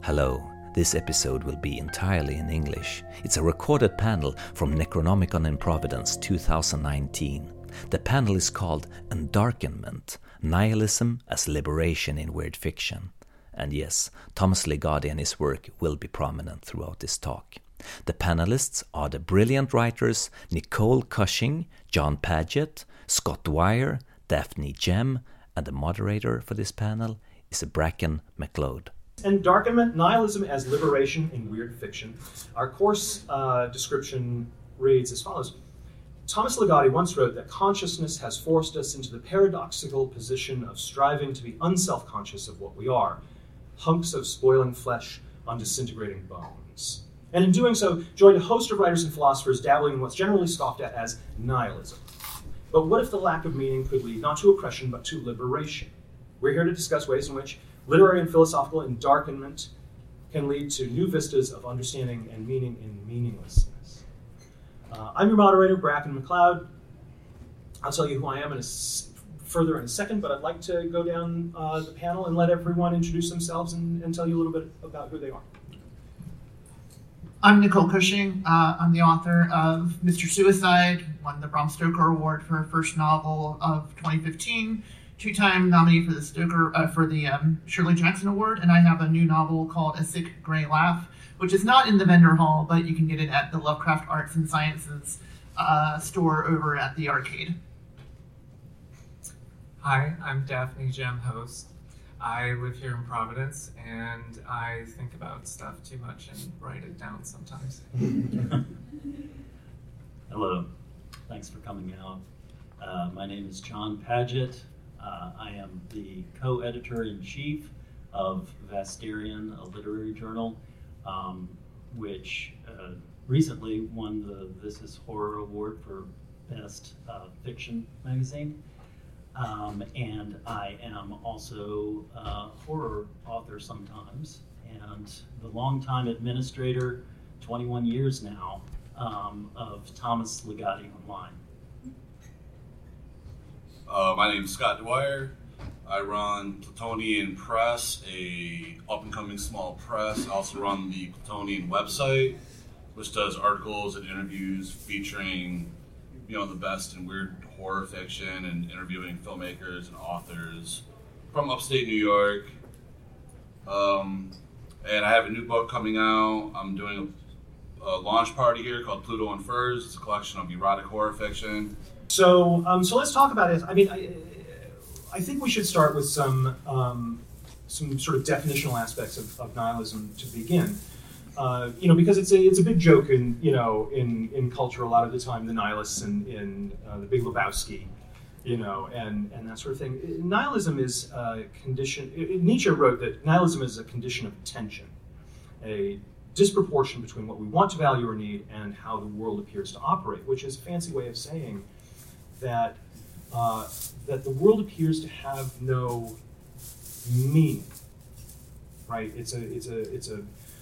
Hello, this episode will be entirely in English. It's a recorded panel from Necronomicon in Providence 2019. The panel is called Endarkenment, Nihilism as Liberation in Weird Fiction. And yes, Thomas Ligotti and his work will be prominent throughout this talk. The panelists are the brilliant writers Nicole Cushing, John Paget, Scott Dwyer, Daphne Jem, and the moderator for this panel is Bracken McLeod. Endarkenment, Nihilism as Liberation in Weird Fiction. Our course description reads as follows. Thomas Ligotti once wrote that consciousness has forced us into the paradoxical position of striving to be unself-conscious of what we are, hunks of spoiling flesh on disintegrating bones. And in doing so, joined a host of writers and philosophers dabbling in what's generally scoffed at as nihilism. But what if the lack of meaning could lead not to oppression, but to liberation? We're here to discuss ways in which literary and philosophical endarkenment can lead to new vistas of understanding and meaning in meaninglessness. I'm your moderator, Bracken McLeod. I'll tell you who I am further in a second, but I'd like to go down the panel and let everyone introduce themselves and tell you a little bit about who they are. I'm Nicole Cushing. I'm the author of Mr. Suicide, won the Bram Stoker Award for her first novel of 2015. Two-time nominee for the Shirley Jackson Award, and I have a new novel called A Sick Grey Laugh, which is not in the vendor hall, but you can get it at the Lovecraft Arts and Sciences store over at the arcade. Hi, I'm Daphne Jem, host. I live here in Providence, and I think about stuff too much and write it down sometimes. Hello, thanks for coming out. My name is John Paget. I am the co-editor-in-chief of Vasterion, a literary journal, which recently won the This Is Horror Award for Best Fiction Magazine. And I am also a horror author sometimes, and the longtime administrator, 21 years now, of Thomas Ligotti Online. My name is Scott Dwyer. I run Plutonian Press, a up-and-coming small press. I also run the Plutonian website, which does articles and interviews featuring, the best in weird horror fiction and interviewing filmmakers and authors from upstate New York. And I have a new book coming out. I'm doing a launch party here called Pluto and Furs. It's a collection of erotic horror fiction. So let's talk about it. I mean, I think we should start with some sort of definitional aspects of nihilism to begin. Because it's a big joke in culture a lot of the time. The nihilists in The Big Lebowski, and that sort of thing. Nihilism is a condition. Nietzsche wrote that nihilism is a condition of tension, a disproportion between what we want to value or need and how the world appears to operate, which is a fancy way of saying that the world appears to have no meaning. Right? It's a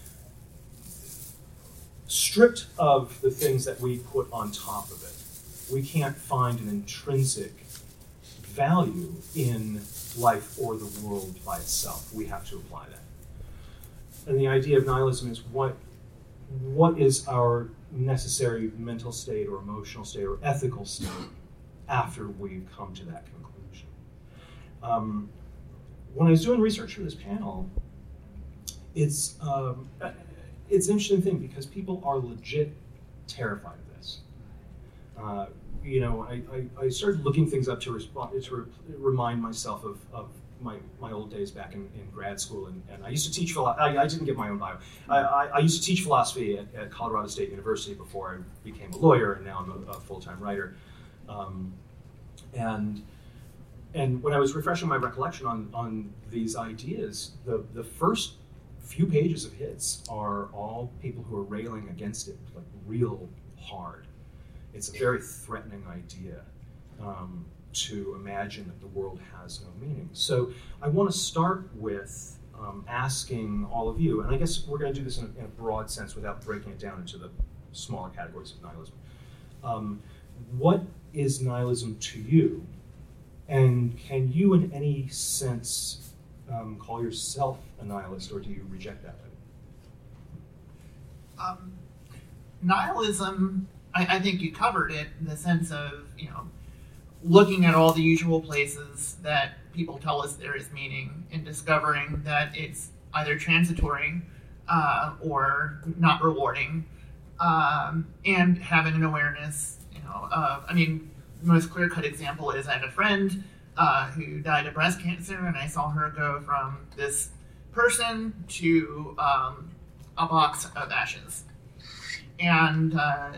stripped of the things that we put on top of it. We can't find an intrinsic value in life or the world by itself. We have to apply that. And the idea of nihilism is what is our necessary mental state or emotional state or ethical state after we come to that conclusion. When I was doing research for this panel, it's an interesting thing because people are legit terrified of this. I started looking things up to remind myself of my old days back in grad school, and I used to teach philosophy. I didn't give my own bio. I used to teach philosophy at Colorado State University before I became a lawyer, and now I'm a full-time writer. And when I was refreshing my recollection on these ideas, the first few pages of hits are all people who are railing against it, like real hard. It's a very threatening idea to imagine that the world has no meaning. So I want to start with asking all of you, and I guess we're going to do this in a broad sense without breaking it down into the smaller categories of nihilism. What is nihilism to you? And can you in any sense call yourself a nihilist, or do you reject that Nihilism, I think you covered it in the sense of, looking at all the usual places that people tell us there is meaning and discovering that it's either transitory or not rewarding, and having an awareness, the most clear-cut example is I had a friend who died of breast cancer, and I saw her go from this person to a box of ashes. And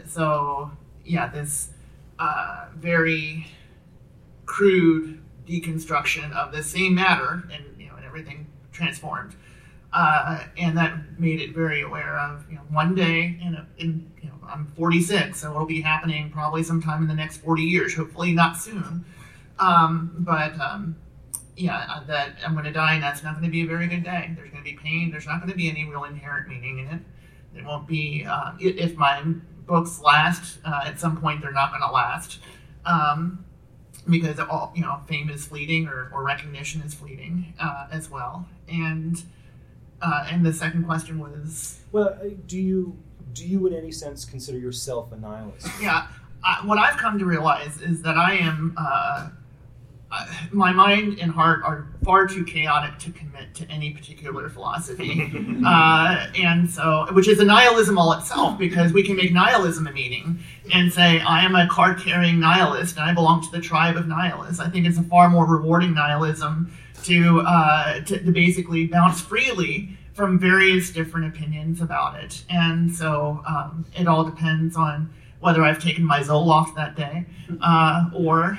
this very crude deconstruction of the same matter, and everything transformed, and that made it very aware of one day, I'm 46, so it'll be happening probably sometime in the next 40 years, hopefully not soon. That I'm going to die, and that's not going to be a very good day. There's going to be pain. There's not going to be any real inherent meaning in it. There won't be, if my books last, at some point they're not going to last, because all, fame is fleeting, or recognition is fleeting, as well. And the second question was, well, do you in any sense consider yourself a nihilist? Yeah, what I've come to realize is that I am. My mind and heart are far too chaotic to commit to any particular philosophy, and so, which is a nihilism all itself, because we can make nihilism a meaning and say, I am a card-carrying nihilist and I belong to the tribe of nihilists. I think it's a far more rewarding nihilism to basically bounce freely from various different opinions about it. And so it all depends on whether I've taken my Zoloft that day, or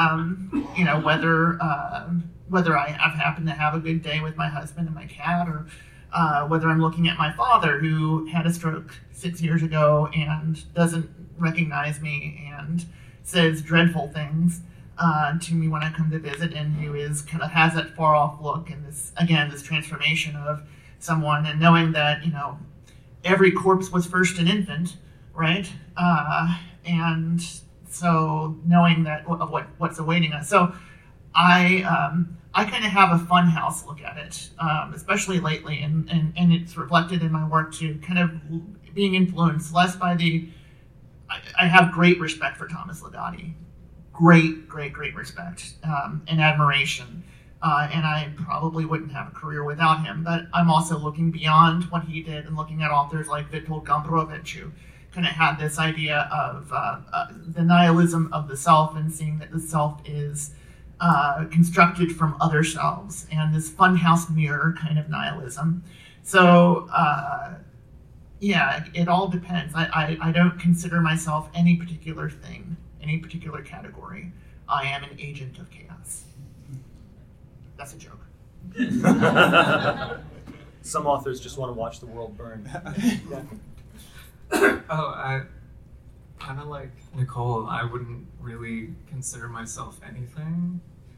whether I've happened to have a good day with my husband and my cat, or whether I'm looking at my father, who had a stroke 6 years ago and doesn't recognize me and says dreadful things to me when I come to visit, and who is kind of has that far off look, and this transformation of someone, and knowing that every corpse was first an infant, right? And so knowing that what's awaiting us. So I kind of have a fun house look at it, especially lately, and it's reflected in my work too, kind of being influenced less by I have great respect for Thomas Ligotti, great respect and admiration, and I probably wouldn't have a career without him, but I'm also looking beyond what he did and looking at authors like Witold Gombrowicz, who kind of had this idea of the nihilism of the self, and seeing that the self is constructed from other selves, and this funhouse mirror kind of nihilism. So it all depends. I don't consider myself any particular thing, any particular category. I am an agent of chaos. That's a joke. Some authors just want to watch the world burn. I kind of like Nicole. I wouldn't really consider myself anything.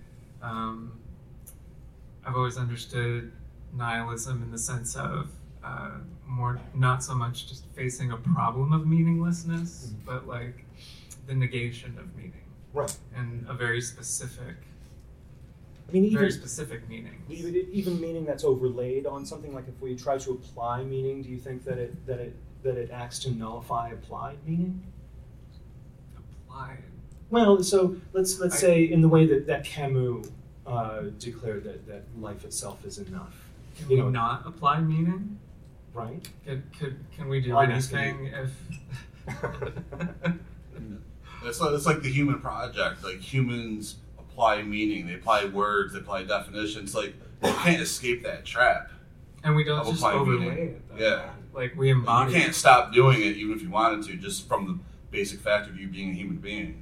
I've always understood nihilism in the sense of more, not so much just facing a problem of meaninglessness, but like the negation of meaning. Right. And a very specific, very specific meaning. Even meaning that's overlaid on something. Like if we try to apply meaning, do you think that it acts to nullify applied meaning? Applied. Well, so let's say in the way that Camus declared that life itself is enough. Can we not apply meaning? Right. Can we do anything if? It's like the human project. Like humans apply meaning, they apply words, they apply definitions. Like you can't escape that trap. And we don't just overlay it. Yeah. Like we embody. You can't stop doing it even if you wanted to, just from the basic fact of you being a human being.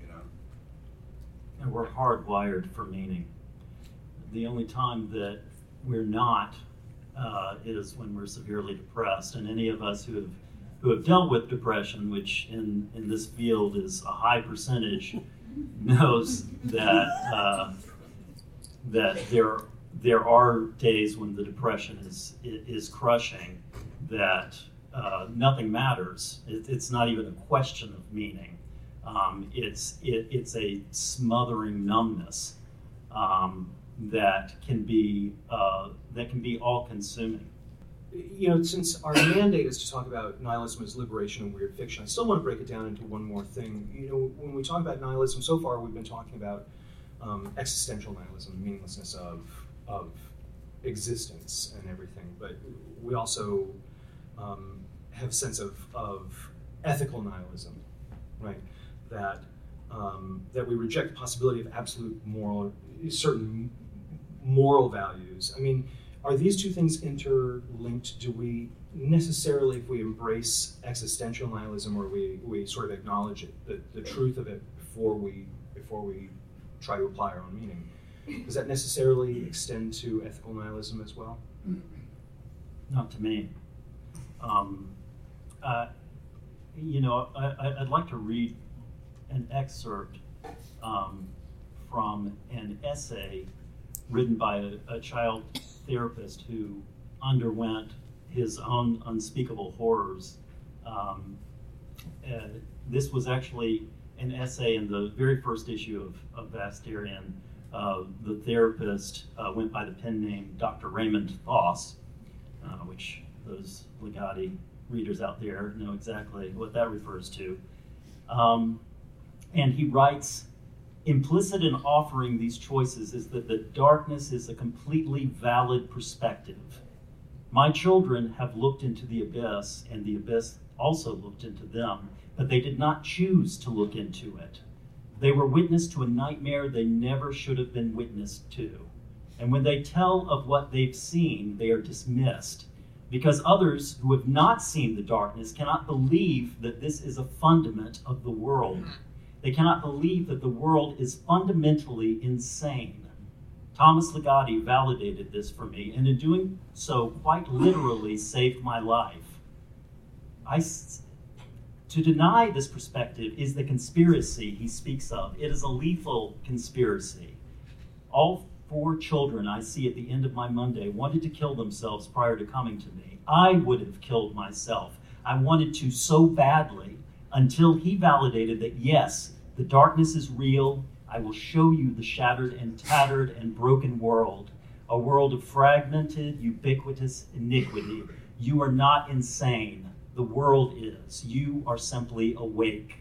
And we're hardwired for meaning. The only time that we're not is when we're severely depressed. And any of us who have dealt with depression, which in this field is a high percentage, knows that there are days when the depression is crushing, that nothing matters. It's not even a question of meaning. It's a smothering numbness that can be all-consuming. since our mandate is to talk about nihilism as liberation and weird fiction, I still want to break it down into one more thing. When we talk about nihilism, so far we've been talking about existential nihilism, the meaninglessness of existence and everything, but we also have a sense of ethical nihilism, right? That we reject the possibility of absolute certain moral values. I mean, are these two things interlinked? Do we necessarily, if we embrace existential nihilism, or we sort of acknowledge the truth of it before we try to apply our own meaning, does that necessarily extend to ethical nihilism as well? Not to me. I'd like to read an excerpt from an essay written by a child therapist who underwent his own unspeakable horrors. This was actually an essay in the very first issue of Vasterian. The therapist went by the pen name Dr. Raymond Foss, which those Legati readers out there know exactly what that refers to. And he writes, implicit in offering these choices is that the darkness is a completely valid perspective. My children have looked into the abyss, and the abyss also looked into them, but they did not choose to look into it. They were witness to a nightmare they never should have been witness to. And when they tell of what they've seen, they are dismissed, because others who have not seen the darkness cannot believe that this is a fundament of the world. They cannot believe that the world is fundamentally insane. Thomas Legati validated this for me, and in doing so, quite literally saved my life. To deny this perspective is the conspiracy he speaks of. It is a lethal conspiracy. All 4 children I see at the end of my Monday wanted to kill themselves prior to coming to me. I would have killed myself. I wanted to so badly, until he validated that, yes, the darkness is real. I will show you the shattered and tattered and broken world, a world of fragmented, ubiquitous iniquity. You are not insane. The world is. You are simply awake.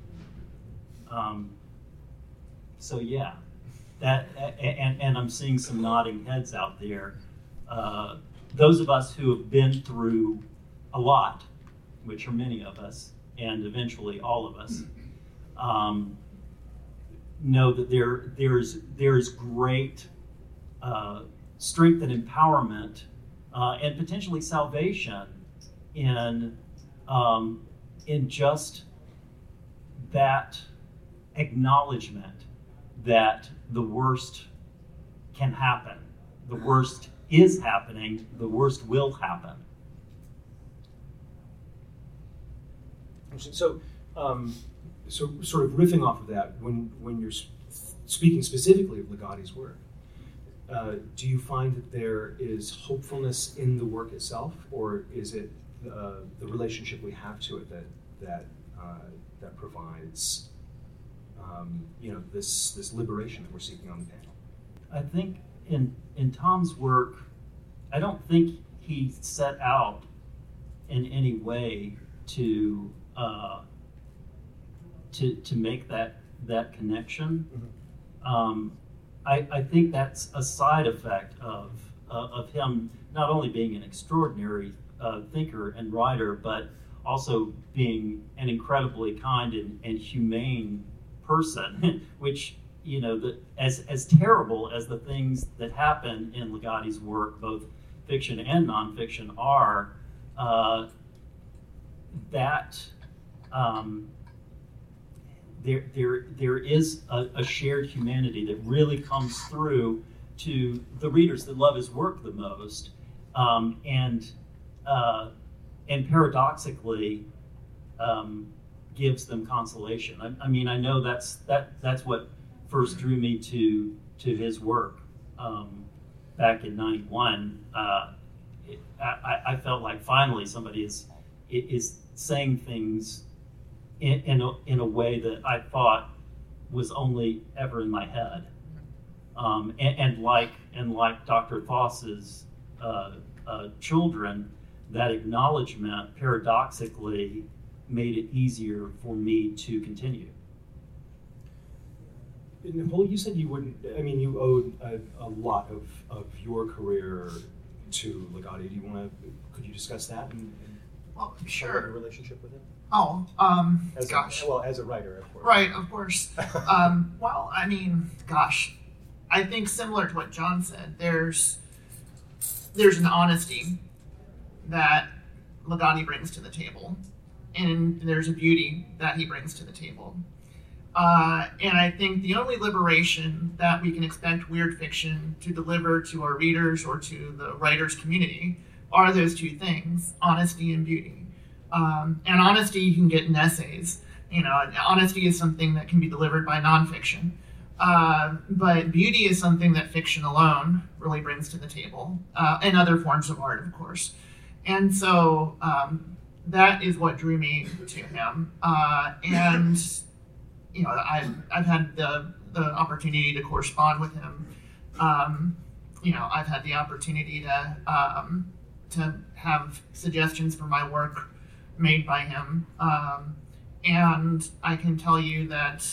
So yeah, that and I'm seeing some nodding heads out there. Those of us who have been through a lot, which are many of us, and eventually all of us, know that there's great strength and empowerment and potentially salvation in just that acknowledgement that the worst can happen. The worst is happening. The worst will happen. So sort of riffing off of that, when you're speaking specifically of Legati's work, do you find that there is hopefulness in the work itself, or is it the relationship we have to it that provides this liberation that we're seeking on the panel? I think in Tom's work, I don't think he set out in any way to make that connection. Mm-hmm. I think that's a side effect of him not only being an extraordinary thinker and writer, but also being an incredibly kind and humane person, which, as terrible as the things that happen in Legati's work, both fiction and nonfiction, are, there is a shared humanity that really comes through to the readers that love his work the most, and paradoxically gives them consolation. I mean, I know that's what first drew me to his work back in '91. I felt like finally somebody is saying things in a way that I thought was only ever in my head, and like Dr. Foss's children, that acknowledgement paradoxically made it easier for me to continue. Nicole, you said you wouldn't, I mean, you owed a lot of your career to Legati. Do you want to, could you discuss that and Well, your sure. relationship with him? Oh, Gosh. As a writer, of course. Right, of course. Well, I mean, gosh, I think similar to what John said, there's an honesty that Legati brings to the table, and there's a beauty that he brings to the table. And I think the only liberation that we can expect weird fiction to deliver to our readers or to the writers community are those two things, honesty and beauty. And honesty you can get in essays. You know, honesty is something that can be delivered by nonfiction. But beauty is something that fiction alone really brings to the table, and other forms of art, of course. And so that is what drew me to him. And you know, I've had the opportunity to correspond with him. You know, I've had the opportunity to have suggestions for my work made by him. And I can tell you that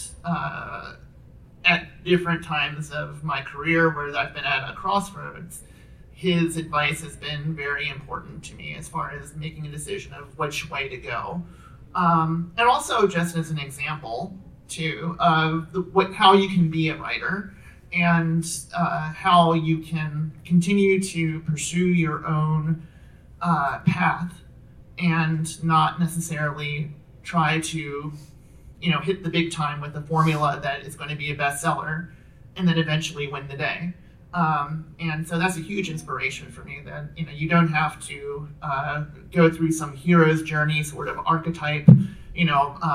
at different times of my career where I've been at a crossroads, his advice has been very important to me as far as making a decision of which way to go. And also just as an example, too, of how you can be a writer and how you can continue to pursue your own path and not necessarily try to, you know, hit the big time with a formula that is going to be a bestseller and then eventually win the day. And so that's a huge inspiration for me that, you know, you don't have to go through some hero's journey sort of archetype, kind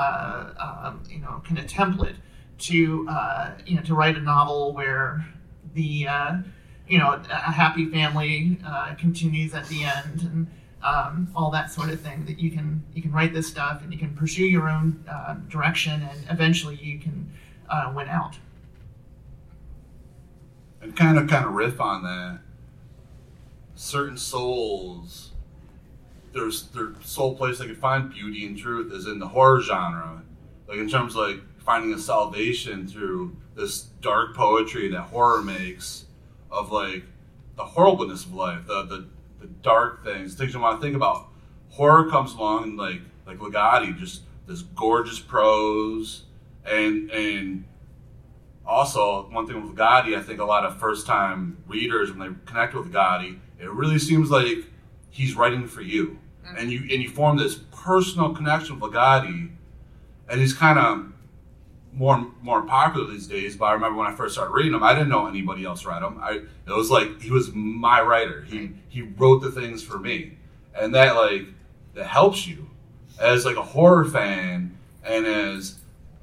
of template to write a novel where the, a happy family continues at the end and all that sort of thing, that you can write this stuff and you can pursue your own direction and eventually you can win out. And kind of riff on that. Certain souls, their sole place they can find beauty and truth is in the horror genre. Like in terms of like finding a salvation through this dark poetry that horror makes of like the horribleness of life, the dark things you want to think about. Horror comes along and like Legati, just this gorgeous prose and also, one thing with Legati, I think a lot of first-time readers, when they connect with Legati, it really seems like he's writing for you. And you form this personal connection with Legati, and he's kind of more popular these days, but I remember when I first started reading him, I didn't know anybody else read him. It was like he was my writer. He wrote the things for me. And that helps you as like a horror fan and as,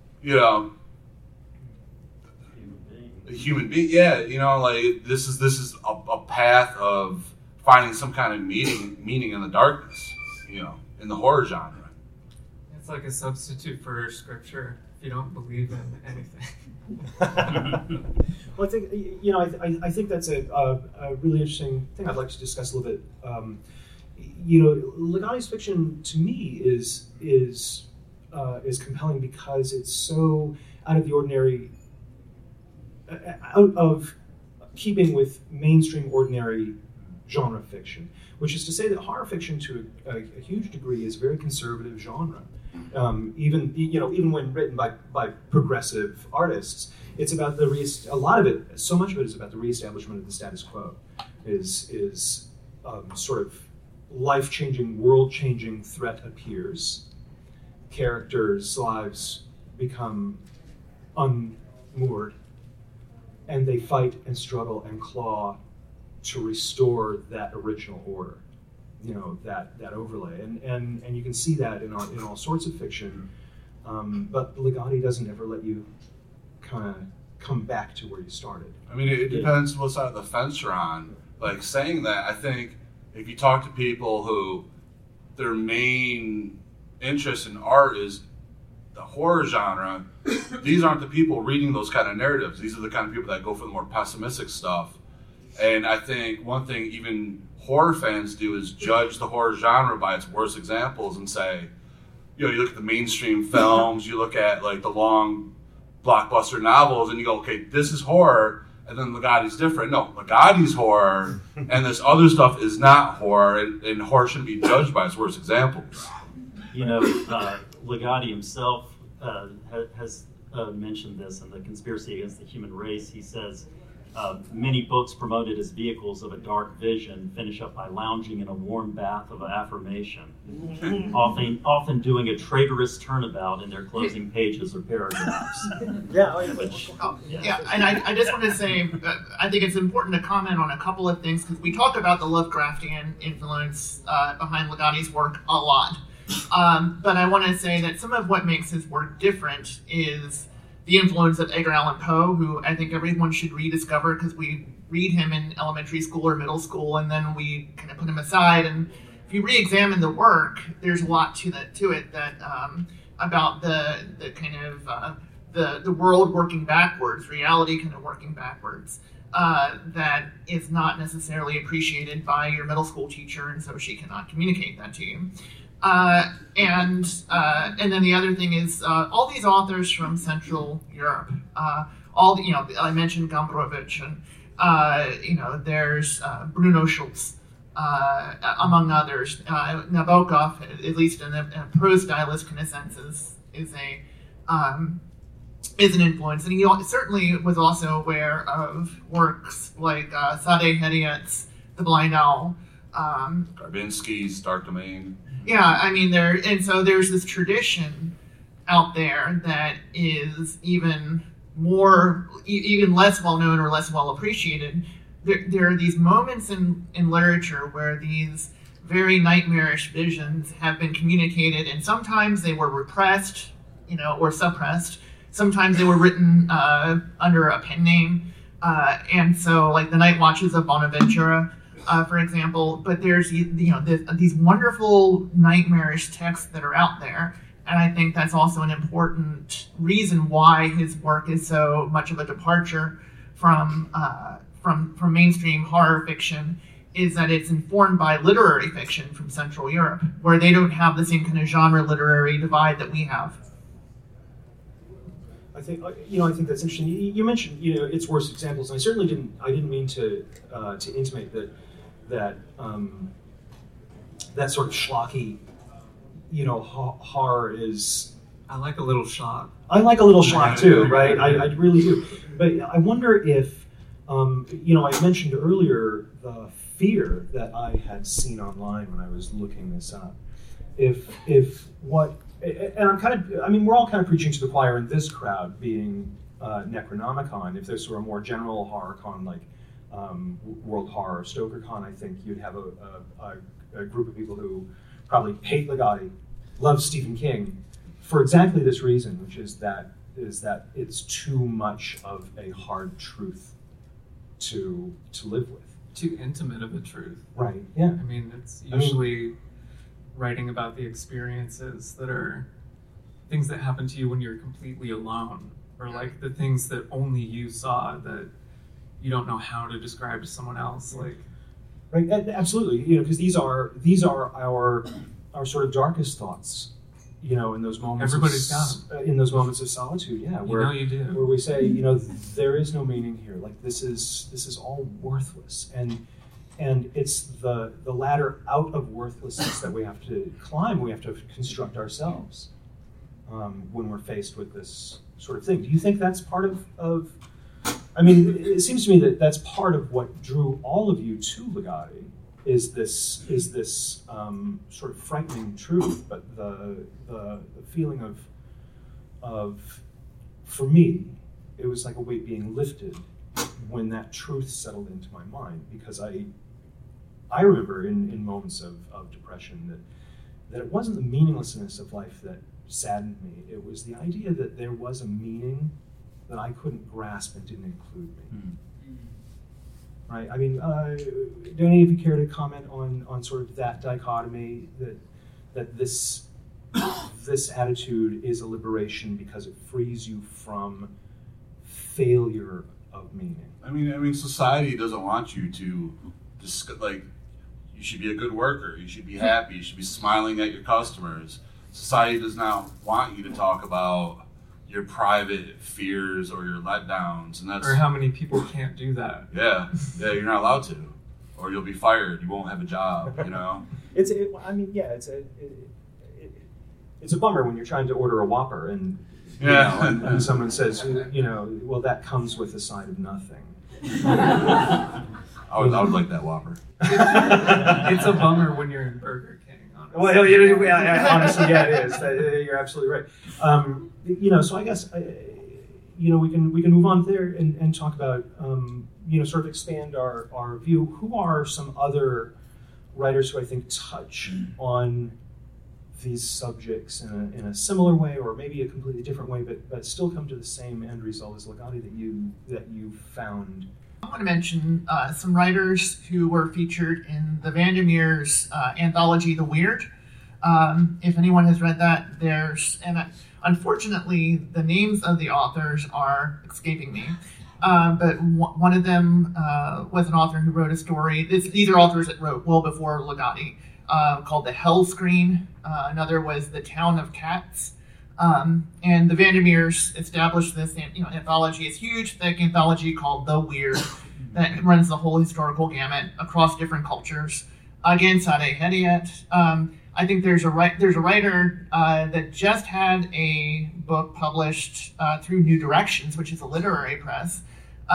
a human being, this is a path of finding some kind of meaning in the darkness, in the horror genre. It's like a substitute for scripture if you don't believe in anything. Well, I think that's a really interesting thing I'd like to discuss a little bit. Legati's fiction to me is compelling because it's so out of the ordinary. Out of keeping with mainstream ordinary genre fiction, which is to say that horror fiction to a huge degree is a very conservative genre. Even when written by progressive artists, it's about so much of it is about the reestablishment of the status quo. Is sort of life-changing, world-changing threat appears, characters' lives become unmoored, and they fight and struggle and claw to restore that original order, that overlay. And you can see that in all sorts of fiction. But Legati doesn't ever let you kind of come back to where you started. I mean, it depends what side of the fence you're on. Like saying that, I think if you talk to people who their main interest in art is the horror genre, these aren't the people reading those kind of narratives. These are the kind of people that go for the more pessimistic stuff. And I think one thing even horror fans do is judge the horror genre by its worst examples and say, you look at the mainstream films, you look at like the long blockbuster novels, and you go, okay, this is horror, and then Ligotti's different. No, Ligotti's horror, and this other stuff is not horror, and horror shouldn't be judged by its worst examples. Ligotti himself has mentioned this in The Conspiracy Against the Human Race. He says, many books promoted as vehicles of a dark vision finish up by lounging in a warm bath of affirmation, often doing a traitorous turnabout in their closing pages or paragraphs. And I just want to say, I think it's important to comment on a couple of things, because we talk about the Lovecraftian influence behind Ligotti's work a lot. But I want to say that some of what makes his work different is the influence of Edgar Allan Poe, who I think everyone should rediscover, because we read him in elementary school or middle school, and then we kind of put him aside. And if you re-examine the work, there's a lot to it that about the kind of the world working backwards, reality kind of working backwards, that is not necessarily appreciated by your middle school teacher, and so she cannot communicate that to you. And then the other thing is all these authors from Central Europe, I mentioned Gombrowicz, and there's Bruno Schulz, among others. Nabokov, at least in a prose stylist kind of sense, is an influence, and he certainly was also aware of works like Sadeh Hediat's The Blind Owl, Garbinsky's Dark Domain. Yeah, I mean, there's this tradition out there that is even less well known or less well appreciated. There are these moments in literature where these very nightmarish visions have been communicated, and sometimes they were repressed, or suppressed. Sometimes they were written under a pen name, and so like the Night Watches of Bonaventura, for example. But there's these wonderful nightmarish texts that are out there, and I think that's also an important reason why his work is so much of a departure from mainstream horror fiction, is that it's informed by literary fiction from Central Europe, where they don't have the same kind of genre literary divide that we have. I think that's interesting. You mentioned its worst examples, and I certainly didn't mean to intimate that sort of schlocky, horror is. I like a little schlock. I like a little schlock too, right? I really do. But I wonder if, I mentioned earlier the fear that I had seen online when I was looking this up. We're all kind of preaching to the choir in this crowd, being Necronomicon. If this were a more general horror con like World Horror or StokerCon, I think you'd have a group of people who probably hate Ligotti, love Stephen King, for exactly this reason, which is that it's too much of a hard truth to live with. Too intimate of a truth. Right, yeah. I mean, it's usually writing about the experiences that are things that happen to you when you're completely alone, or like the things that only you saw that you don't know how to describe to someone else. Like, right, absolutely. Because these are our sort of darkest thoughts. In those moments. Everybody's got them. In those moments of solitude, yeah. You do. Where we say, there is no meaning here. Like this is all worthless, and it's the ladder out of worthlessness that we have to climb. We have to construct ourselves when we're faced with this sort of thing. Do you think that's part of? I mean, it seems to me that that's part of what drew all of you to Ligotti. Is this sort of frightening truth, but the feeling of for me, it was like a weight being lifted when that truth settled into my mind, because I remember in moments of depression that it wasn't the meaninglessness of life that saddened me. It was the idea that there was a meaning that I couldn't grasp and didn't include me. Mm. Right. I mean, do any of you care to comment on sort of that dichotomy, that this attitude is a liberation because it frees you from failure of of meaning. I mean, society doesn't want you to you should be a good worker. You should be happy. You should be smiling at your customers. Society does not want you to talk about your private fears or your letdowns, and that's Or how many people can't do that. yeah, you're not allowed to, or you'll be fired. You won't have a job. It's a bummer when you're trying to order a Whopper and and someone says, well, that comes with a side of nothing. I would like that Whopper. It's a bummer when you're in Burger King. Honestly. Well, honestly, it is. You're absolutely right. So I guess we can move on there and talk about sort of expand our view. Who are some other writers who I think touch on these subjects in a similar way, or maybe a completely different way, but still come to the same end result as Ligotti that you found? I want to mention some writers who were featured in the Vandermeer's anthology, The Weird. If anyone has read that, unfortunately, the names of the authors are escaping me. But one of them was an author who wrote a story. These are authors that wrote well before Ligotti, called The Hell Screen. Another was The Town of Cats. And the Vandermeers established this anthology, this huge, thick anthology called The Weird that runs the whole historical gamut across different cultures. Again, Sadeh Hedayat. I think there's a writer that just had a book published through New Directions, which is a literary press.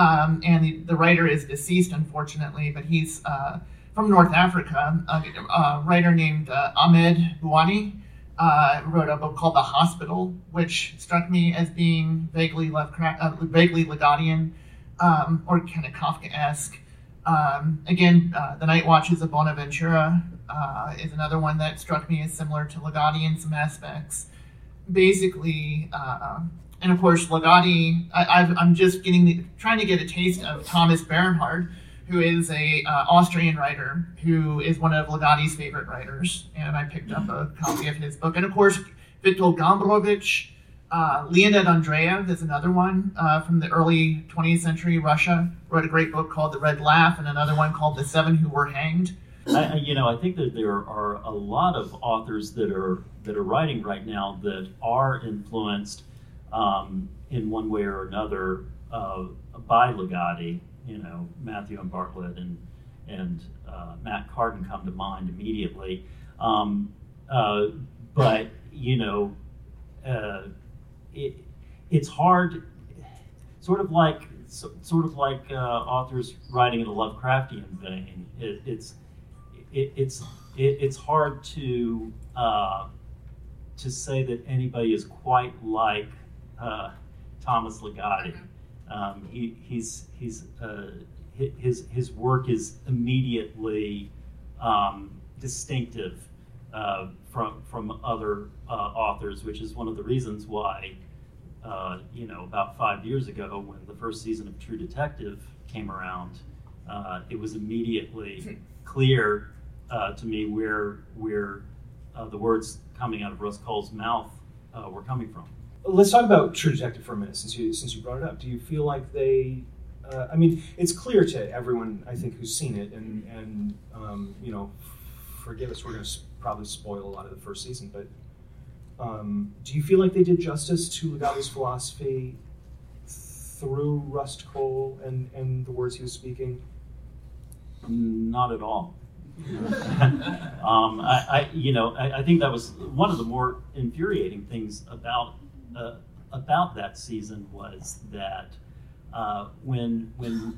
And the writer is deceased, unfortunately, but he's from North Africa. A writer named Ahmed Bouani wrote a book called The Hospital, which struck me as being vaguely Ligottian, or kind of Kafkaesque. Again, The Night Watches of Bonaventura is another one that struck me as similar to Ligotti in some aspects. Basically, and of course, Ligotti, I'm just trying to get a taste of Thomas Bernhard, who is a Austrian writer who is one of Ligotti's favorite writers, and I picked up a copy of his book. And of course, Viktor Gombrowicz, Leonid Andreev is another one from the early 20th century Russia, wrote a great book called The Red Laugh, and another one called The Seven Who Were Hanged. I think that there are a lot of authors that are writing right now that are influenced in one way or another by Ligotti. Matthew and Bartlett and Matt Carden come to mind immediately. But it's hard, sort of like authors writing in a Lovecraftian vein. It's hard to say that anybody is quite like Thomas Ligotti. His work is immediately distinctive from other authors, which is one of the reasons why about 5 years ago, when the first season of True Detective came around, it was immediately clear to me where the words coming out of Russ Cole's mouth were coming from. Let's talk about True Detective for a minute, since you brought it up. Do you feel like they? It's clear to everyone, I think, who's seen it, and forgive us, we're going to probably spoil a lot of the first season, but do you feel like they did justice to Ligotti's philosophy through Rust Cole and the words he was speaking? Not at all. I think that was one of the more infuriating things about that season was that when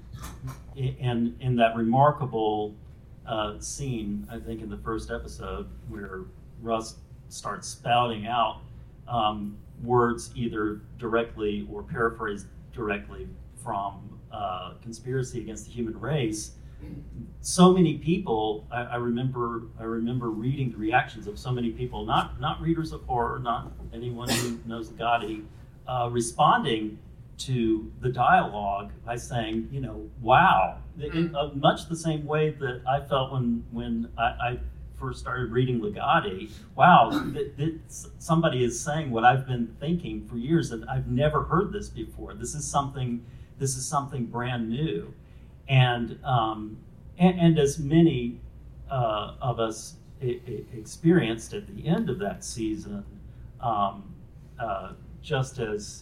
in that remarkable scene, I think in the first episode, where Russ starts spouting out words either directly or paraphrased directly from Conspiracy Against the Human Race. So many people, I remember reading the reactions of so many people, not readers of horror, not anyone who knows Ligotti, responding to the dialogue by saying, wow, much the same way that I felt when I first started reading Ligotti. Wow, that somebody is saying what I've been thinking for years, that I've never heard this before. This is something This is something brand new, and as many of us experienced at the end of that season, just as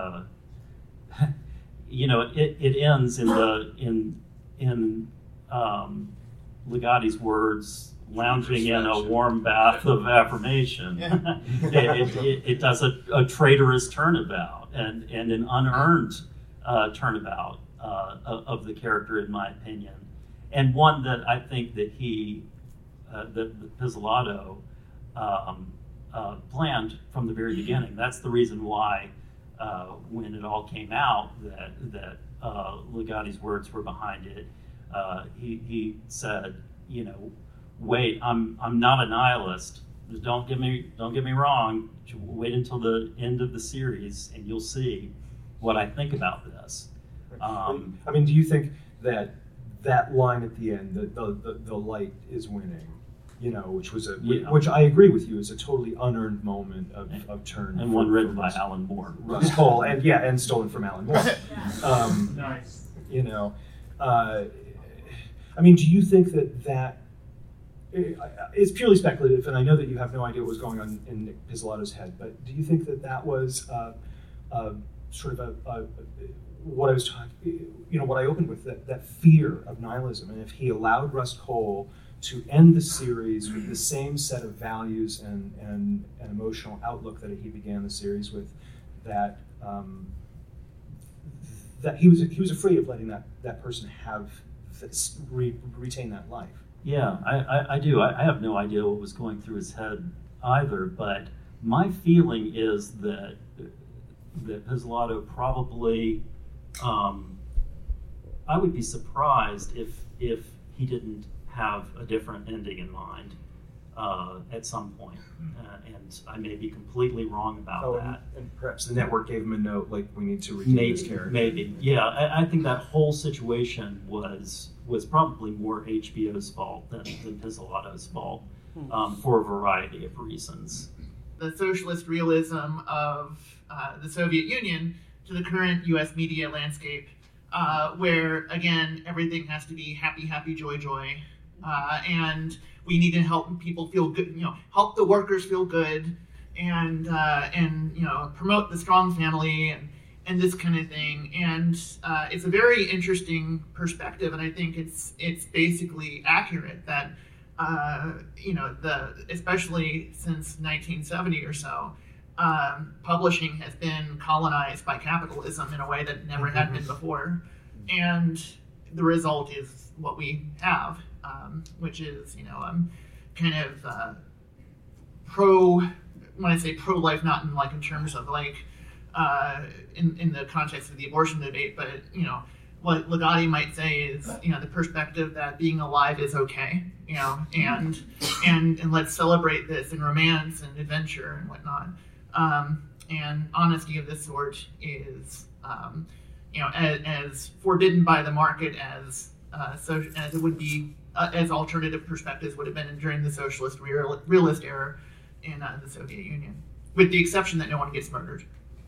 it ends in Ligotti's words, lounging in a warm bath of affirmation. It does a traitorous turnabout and an unearned turnabout of the character, in my opinion, and one that I think that that Pizzolatto planned from the very beginning. That's the reason why when it all came out that Ligotti's words were behind it. He said, wait, I'm not a nihilist. Don't get me wrong. Wait until the end of the series, and you'll see what I think about this. Do you think that line at the end, the light is winning, which I agree with you, is a totally unearned moment of turn, and one written by Alan Moore, Rust Cohle, and stolen from Alan Moore. Nice. Do you think that it's purely speculative, and I know that you have no idea what was going on in Nick Pizzolatto's head, but do you think that was sort of what I was talking, what I opened with, that fear of nihilism, and if he allowed Rust Cohle to end the series with the same set of values and emotional outlook that he began the series with, that he was afraid of letting that person retain that life. Yeah, I do. I have no idea what was going through his head either, but my feeling is that Pizzolatto probably, I would be surprised if he didn't have a different ending in mind at some point, and I may be completely wrong about that. And perhaps the network gave him a note, like, we need to retain this character. Maybe, yeah. I think that whole situation was probably more HBO's fault than Pizzolatto's fault, for a variety of reasons. The socialist realism of the Soviet Union to the current U.S. media landscape, where, again, everything has to be happy, happy, joy, joy, and we need to help people feel good, help the workers feel good, and promote the strong family and this kind of thing. And it's a very interesting perspective, and I think it's basically accurate that especially since 1970 or so, publishing has been colonized by capitalism in a way that never had been before, and the result is what we have, which is kind of when I say pro-life, not in terms of in the context of the abortion debate, but what Ligotti might say is the perspective that being alive is okay, and let's celebrate this in romance and adventure and whatnot. And honesty of this sort is as forbidden by the market as it would be as alternative perspectives would have been during the socialist realist era in the Soviet Union, with the exception that no one gets murdered.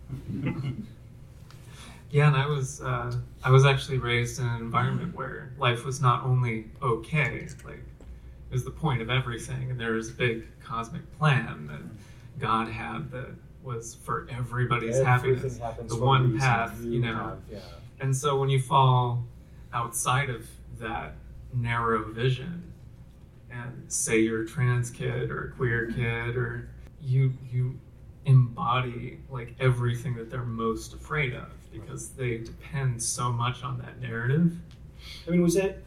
Yeah, and I was actually raised in an environment where life was not only okay, it was the point of everything, and there was a big cosmic plan that God had that was for everybody's happiness, the one path, And so when you fall outside of that narrow vision and say you're a trans kid or a queer kid, or you embody everything that they're most afraid of, because they depend so much on that narrative. Was that,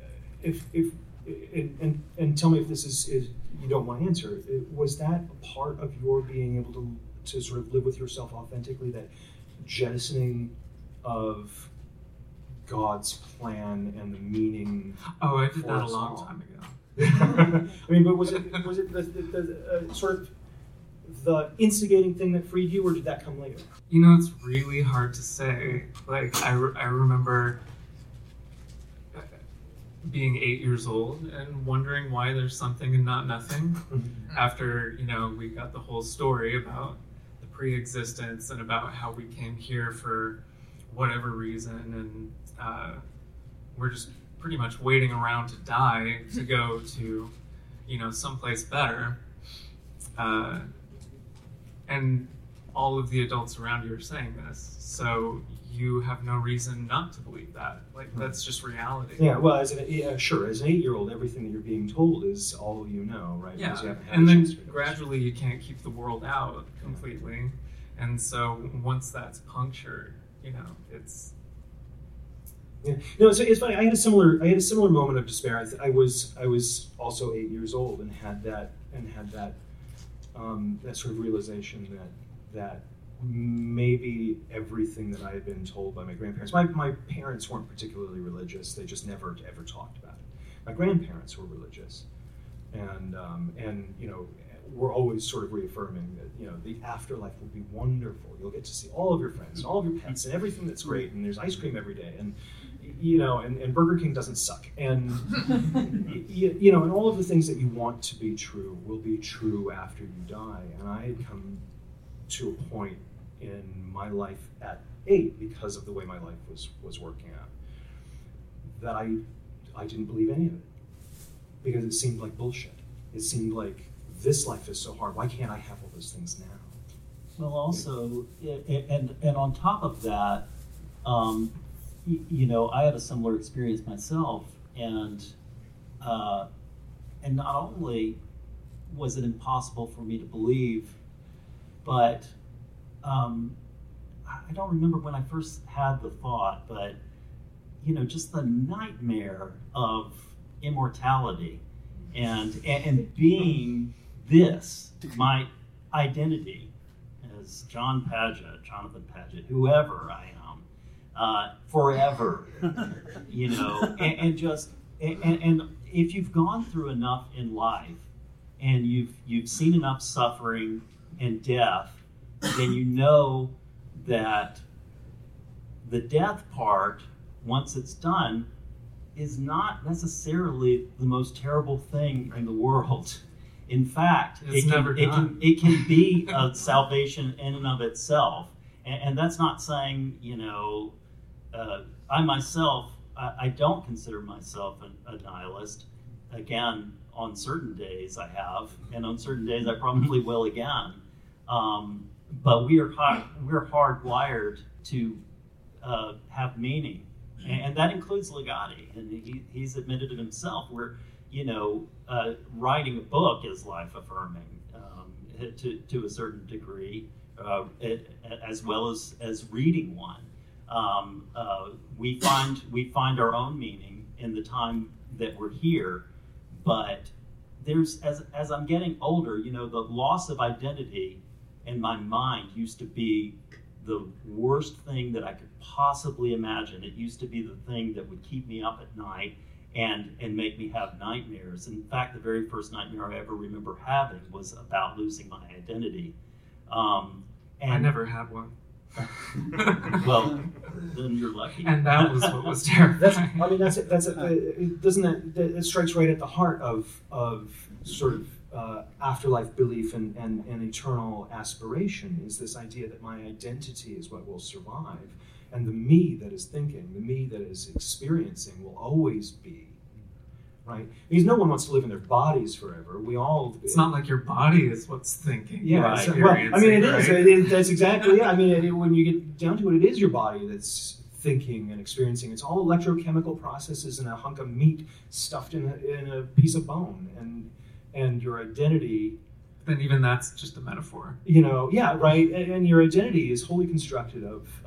and tell me if this is you don't want to answer, was that a part of your being able to sort of live with yourself authentically, that jettisoning of God's plan and the meaning? Oh, I did that a long time ago. But was it the sort of the instigating thing that freed you, or did that come later? It's really hard to say. I remember being 8 years old and wondering why there's something and not nothing. After, we got the whole story about the pre-existence and about how we came here for whatever reason, and we're just pretty much waiting around to die to go to, someplace better. And all of the adults around you are saying this, so you have no reason not to believe that. Like, that's just reality. Yeah, well, as an 8-year-old, everything that you're being told is all you know, right? Yeah, Because you haven't had and a then chance to gradually you can't keep the world out completely. And so once that's punctured, it's... Yeah, it's funny. I had a similar moment of despair. I was also 8 years old and had that sort of realization that maybe everything that I had been told by my grandparents. My parents weren't particularly religious. They just never ever talked about it. My grandparents were religious, and were always sort of reaffirming that the afterlife will be wonderful. You'll get to see all of your friends and all of your pets and everything that's great. And there's ice cream every day. And and Burger King doesn't suck. And and all of the things that you want to be true will be true after you die. And I had come to a point in my life at 8, because of the way my life was working out, that I didn't believe any of it, because it seemed like bullshit. It seemed like, this life is so hard. Why can't I have all those things now? Well, also, and on top of that, I had a similar experience myself, and not only was it impossible for me to believe, but I don't remember when I first had the thought, but just the nightmare of immortality and being this, my identity as Jonathan Padgett, whoever I am, forever, and if you've gone through enough in life and you've seen enough suffering and death, then you know that the death part, once it's done, is not necessarily the most terrible thing in the world. In fact, it can be a salvation in and of itself. And that's not saying, I myself, I don't consider myself a nihilist. Again, on certain days I have, and on certain days I probably will again. But we're hardwired to have meaning. And that includes Ligotti, and he's admitted it himself. We're, writing a book is life-affirming to a certain degree, as well as reading one. We find our own meaning in the time that we're here, but there's as I'm getting older, the loss of identity in my mind used to be the worst thing that I could possibly imagine. It used to be the thing that would keep me up at night and make me have nightmares. In fact, the very first nightmare I ever remember having was about losing my identity. And I never had one. Well, then you're lucky. And that was what was terrifying. That strikes right at the heart of sort of afterlife belief and eternal aspiration, is this idea that my identity is what will survive, and the me that is thinking, the me that is experiencing will always be, right? Because no one wants to live in their bodies forever. It's not like your body is what's thinking. Yeah, right. It is. That's exactly it. When you get down to it, it is your body that's thinking and experiencing. It's all electrochemical processes in a hunk of meat stuffed in a piece of bone, and your identity. Then even that's just a metaphor. Right. And your identity is wholly constructed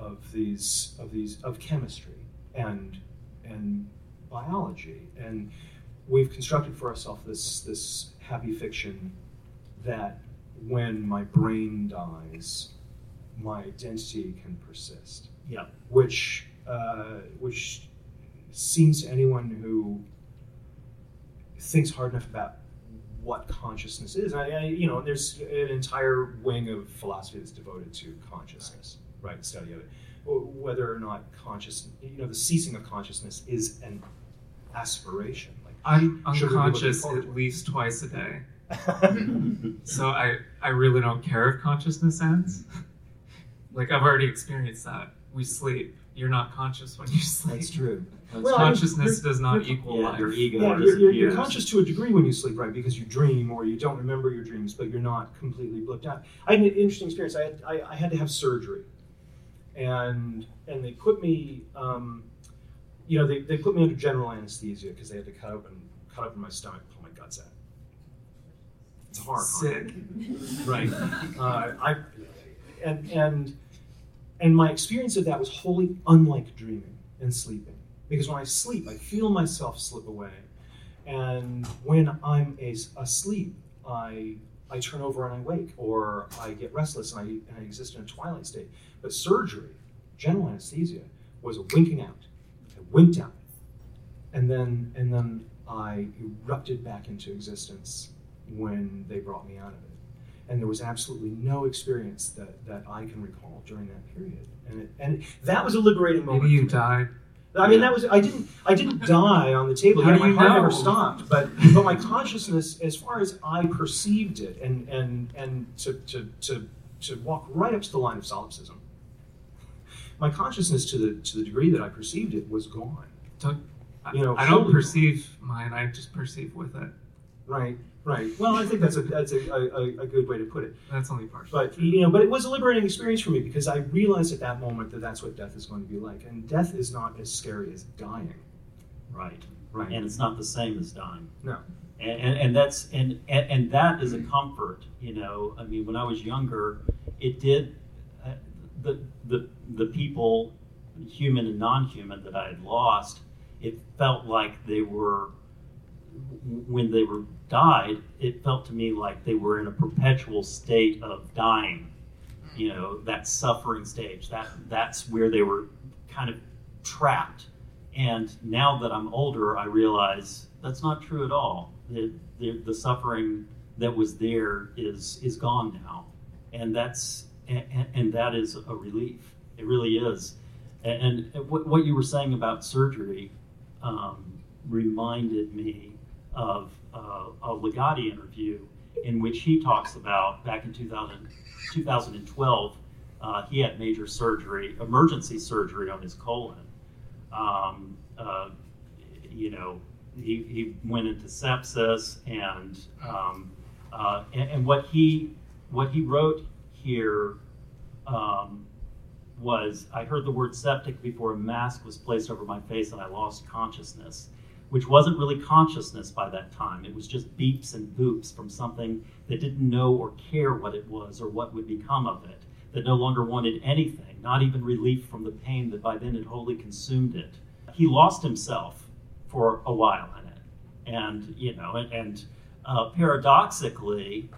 of chemistry and biology, and we've constructed for ourselves this happy fiction that when my brain dies, my identity can persist. Yeah. Which seems to anyone who thinks hard enough about what consciousness is. There's an entire wing of philosophy that's devoted to consciousness, right? The study of it. Whether or not the ceasing of consciousness is an aspiration. I'm unconscious at least twice a day. So I really don't care if consciousness ends. I've already experienced that. We sleep, you're not conscious when you sleep. That's true. Well, I mean, Consciousness does not equal Yeah, life. your ego Yeah, you're disappears. conscious to a degree when you sleep, right? Because you dream or you don't remember your dreams, but you're not completely blipped out. I had an interesting experience. I had to have surgery, and they put me, they put me under general anesthesia because they had to cut open my stomach, pull my guts out. It's hard. Sick. Right. And my experience of that was wholly unlike dreaming and sleeping. Because when I sleep, I feel myself slip away. And when I'm asleep, I turn over and I wake, or I get restless and I exist in a twilight state. But surgery, general anesthesia, was a winking out. I winked out. And then I erupted back into existence when they brought me out of it. And there was absolutely no experience that I can recall during that period. And that was a liberating moment. Maybe you for me. died. I mean, I didn't die on the table. How Yeah, do my you heart know? never stopped. But my consciousness, as far as I perceived it, and to walk right up to the line of solipsism, my consciousness to the degree that I perceived it was gone. I wholly don't gone. perceive mine. I just perceive with it. Right. Well, I think that's a good way to put it. That's only partial. But but it was a liberating experience for me because I realized at that moment that that's what death is going to be like, and death is not as scary as dying. Right. Right. And it's not the same as dying. No. And that's and that is a comfort. I mean, when I was younger, it did the people, human and non-human, that I had lost. It felt like they were, when they were died, it felt to me like they were in a perpetual state of dying. That suffering stage. That's where they were kind of trapped. And now that I'm older, I realize that's not true at all. The suffering that was there is gone now, and that is a relief. It really is. And what you were saying about surgery reminded me of a Ligotti interview in which he talks about back in 2012, he had major surgery, emergency surgery on his colon. He went into sepsis, and what he wrote here was, I heard the word septic before a mask was placed over my face and I lost consciousness, which wasn't really consciousness by that time. It was just beeps and boops from something that didn't know or care what it was or what would become of it, that no longer wanted anything, not even relief from the pain that by then had wholly consumed it. He lost himself for a while in it. And paradoxically,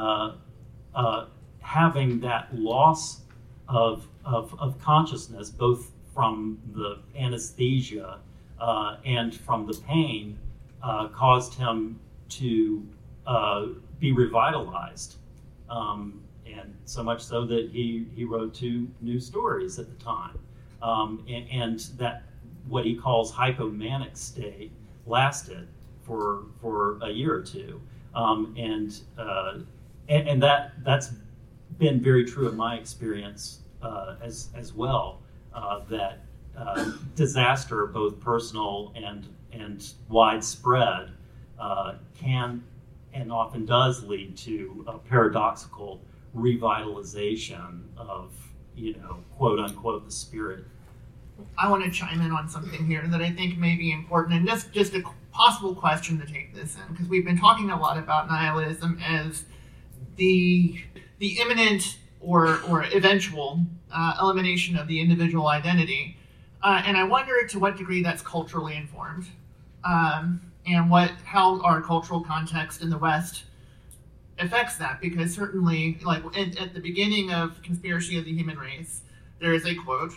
having that loss of consciousness, both from the anesthesia and from the pain, caused him to be revitalized. And so much so that he wrote 2 new stories at the time. And that what he calls hypomanic state lasted for a year or two. And that's been very true in my experience as well, that disaster, both personal and widespread, can and often does lead to a paradoxical revitalization of, quote unquote, the spirit. I want to chime in on something here that I think may be important, and just a possible question to take this in, because we've been talking a lot about nihilism as the imminent or eventual elimination of the individual identity, and I wonder to what degree that's culturally informed, and how our cultural context in the West affects that. Because certainly, like at the beginning of Conspiracy of the Human Race, there is a quote.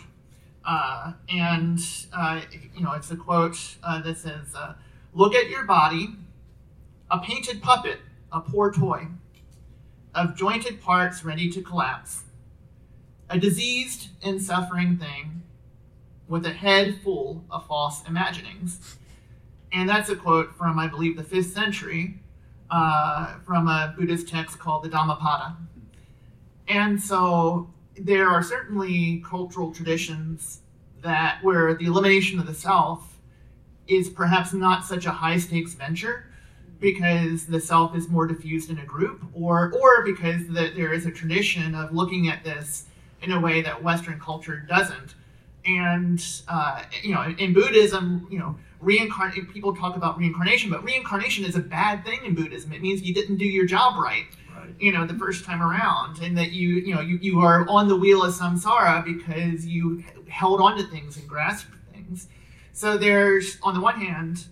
It's a quote that says, "Look at your body, a painted puppet, a poor toy, of jointed parts ready to collapse, a diseased and suffering thing, with a head full of false imaginings." And that's a quote from, I believe, the 5th century, from a Buddhist text called the Dhammapada. And so there are certainly cultural traditions that where the elimination of the self is perhaps not such a high stakes venture because the self is more diffused in a group, or because there is a tradition of looking at this in a way that Western culture doesn't. And in Buddhism, people talk about reincarnation, but reincarnation is a bad thing in Buddhism. It means you didn't do your job right. The first time around, and that you are on the wheel of samsara because you held on to things and grasped things. So there's, on the one hand,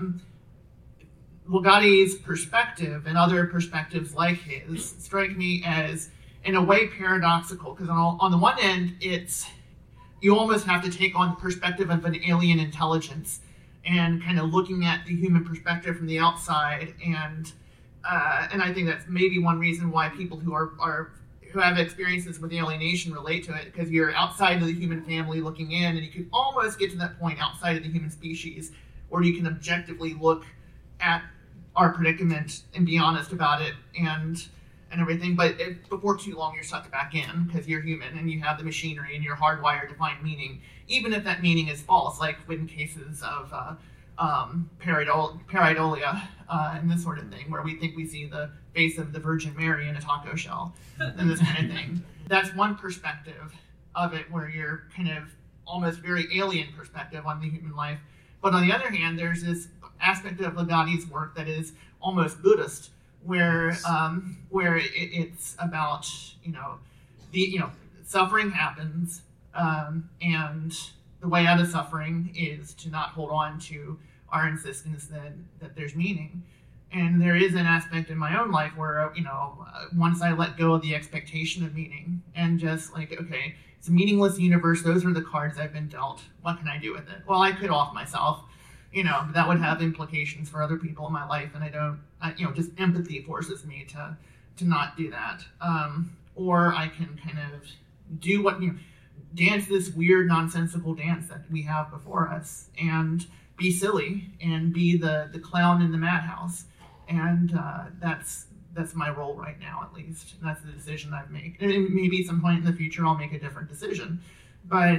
Ligotti's perspective and other perspectives like his strike me as, in a way, paradoxical, because on the one end, you almost have to take on the perspective of an alien intelligence and kind of looking at the human perspective from the outside, and I think that's maybe one reason why people who have experiences with alienation relate to it, because you're outside of the human family looking in, and you can almost get to that point outside of the human species where you can objectively look at our predicament and be honest about it and everything. But before too long, you're sucked back in because you're human and you have the machinery and you're hardwired to find meaning, even if that meaning is false, like in cases of pareidolia and this sort of thing, where we think we see the face of the Virgin Mary in a taco shell and this kind of thing. That's one perspective of it, where you're kind of almost very alien perspective on the human life. But on the other hand, there's this aspect of Ligotti's work that is almost Buddhist, where it's about suffering happens, and the way out of suffering is to not hold on to our insistence that there's meaning. And there is an aspect in my own life where once I let go of the expectation of meaning and just like, okay, it's a meaningless universe. Those are the cards I've been dealt. What can I do with it? Well, I could off myself. But that would have implications for other people in my life, and I don't, just empathy forces me to not do that. Or I can kind of do dance this weird, nonsensical dance that we have before us, and be silly, and be the clown in the madhouse. And that's my role right now, at least. And that's the decision I've made. And maybe at some point in the future I'll make a different decision. But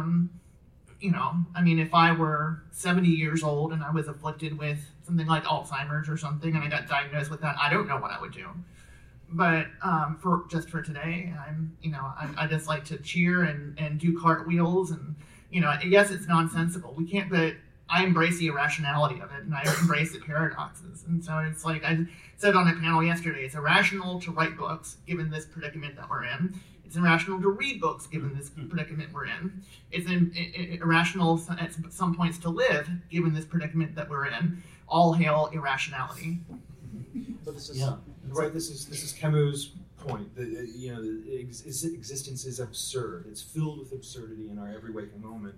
if I were 70 years old and I was afflicted with something like Alzheimer's or something, and I got diagnosed with that, I don't know what I would do. But for today, I just like to cheer and do cartwheels, and yes, it's nonsensical. We can't, but I embrace the irrationality of it, and I embrace the paradoxes. And so it's like I said on a panel yesterday, it's irrational to write books given this predicament that we're in. It's irrational to read books given this predicament we're in. It's irrational at some points to live given this predicament that we're in. All hail irrationality. But this is right. This is Camus' point. Existence is absurd. It's filled with absurdity in our every waking moment,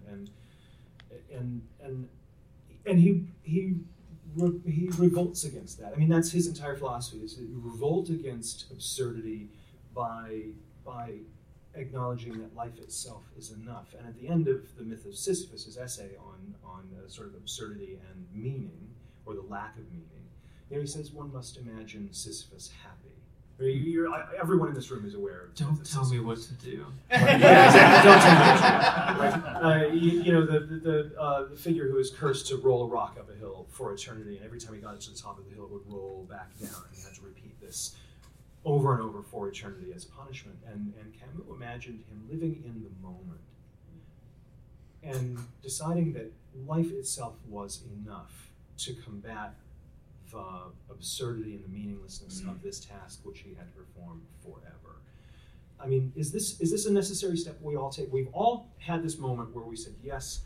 and he revolts against that. I mean, that's his entire philosophy: is to revolt against absurdity by acknowledging that life itself is enough. And at the end of the myth of Sisyphus, his essay on sort of absurdity and meaning, or the lack of meaning, he says one must imagine Sisyphus happy. Everyone in this room is aware of. Don't tell me what to do. Yeah, exactly. Don't tell me. The figure who is cursed to roll a rock up a hill for eternity, and every time he got to the top of the hill, it would roll back down, and he had to repeat this over and over for eternity as punishment. And Camus imagined him living in the moment and deciding that life itself was enough to combat the absurdity and the meaninglessness of this task which he had to perform forever. I mean, is this a necessary step we all take? We've all had this moment where we said, yes,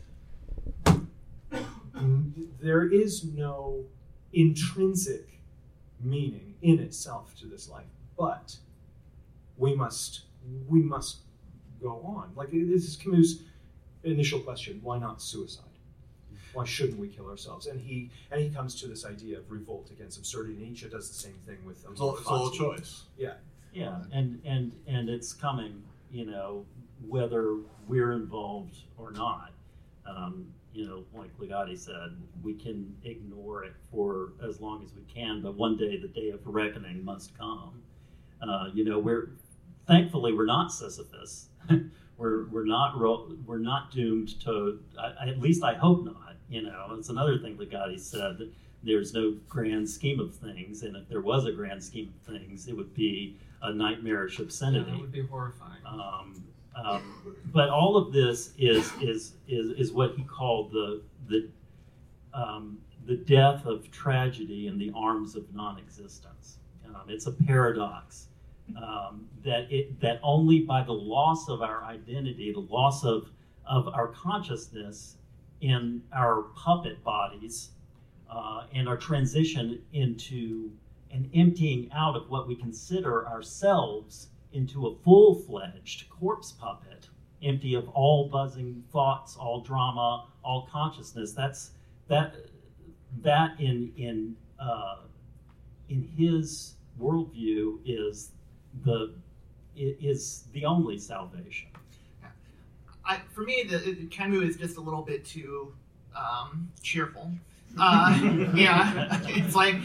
there is no intrinsic meaning in itself to this life, but we must go on. Like, this is Camus' initial question: why not suicide? Why shouldn't we kill ourselves? And he comes to this idea of revolt against absurdity. Nietzsche does the same thing with it's all a choice. Yeah, and it's coming, whether we're involved or not. Like Ligotti said, we can ignore it for as long as we can, but one day the day of reckoning must come. Thankfully we're not Sisyphus. we're not doomed to. At least I hope not. It's another thing Ligotti said, that there's no grand scheme of things, and if there was a grand scheme of things, it would be a nightmarish obscenity. Yeah, that would be horrifying. But all of this is what he called the death of tragedy in the arms of non-existence. It's a paradox that only by the loss of our identity, the loss of our consciousness in our puppet bodies, and our transition into an emptying out of what we consider ourselves into a full-fledged corpse puppet, empty of all buzzing thoughts, all drama, all consciousness. That in his worldview is the only salvation. For me, Camus is just a little bit too cheerful. Yeah, it's like,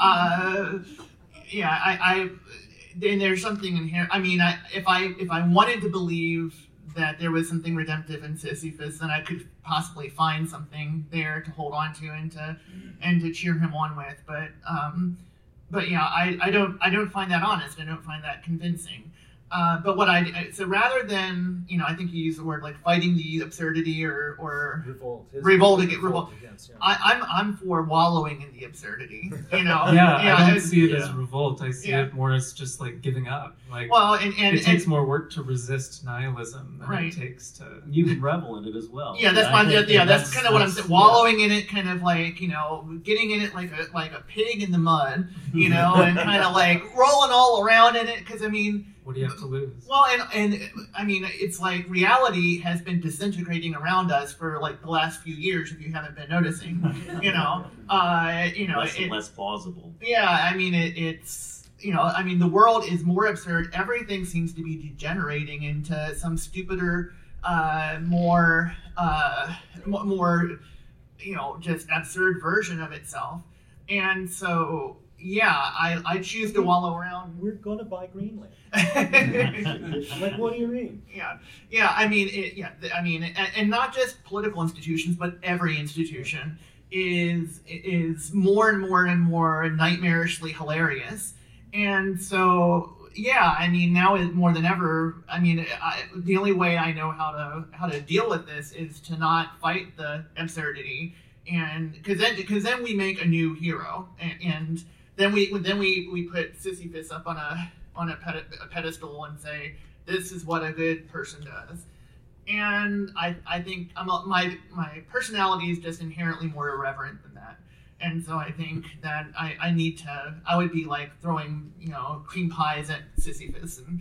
and there's something in here. I mean, if I wanted to believe that there was something redemptive in Sisyphus, then I could possibly find something there to hold on to and to cheer him on with. But yeah, I don't find that honest. I don't find that convincing. But so rather than, I think you used the word like fighting the absurdity or revolt against. Yeah. I'm for wallowing in the absurdity. I don't see it as revolt. I see it more as just like giving up. Like, well, and it takes more work to resist nihilism than it takes to. You can revel in it as well. Yeah, that's that's kind of what I'm saying. Wallowing in it, kind of like getting in it like a pig in the mud, and kind of like rolling all around in it. Because I mean. What do you have to lose? Well, and I mean, it's like reality has been disintegrating around us for like the last few years, if you haven't been noticing. Less and less plausible. Yeah, I mean, it's the world is more absurd. Everything seems to be degenerating into some stupider, more just absurd version of itself, and so. Yeah, I choose to wallow around. We're going to buy Greenland. Like, what do you mean? Yeah. I mean, and not just political institutions, but every institution is more and more and more nightmarishly hilarious. And so, yeah, I mean, now more than ever, I mean, the only way I know how to deal with this is to not fight the absurdity, and because then we make a new hero, and then we put Sisyphus up on a pedestal and say, this is what a good person does. And I think my personality is just inherently more irreverent than that. And so I think that I would be like throwing, cream pies at Sisyphus, and,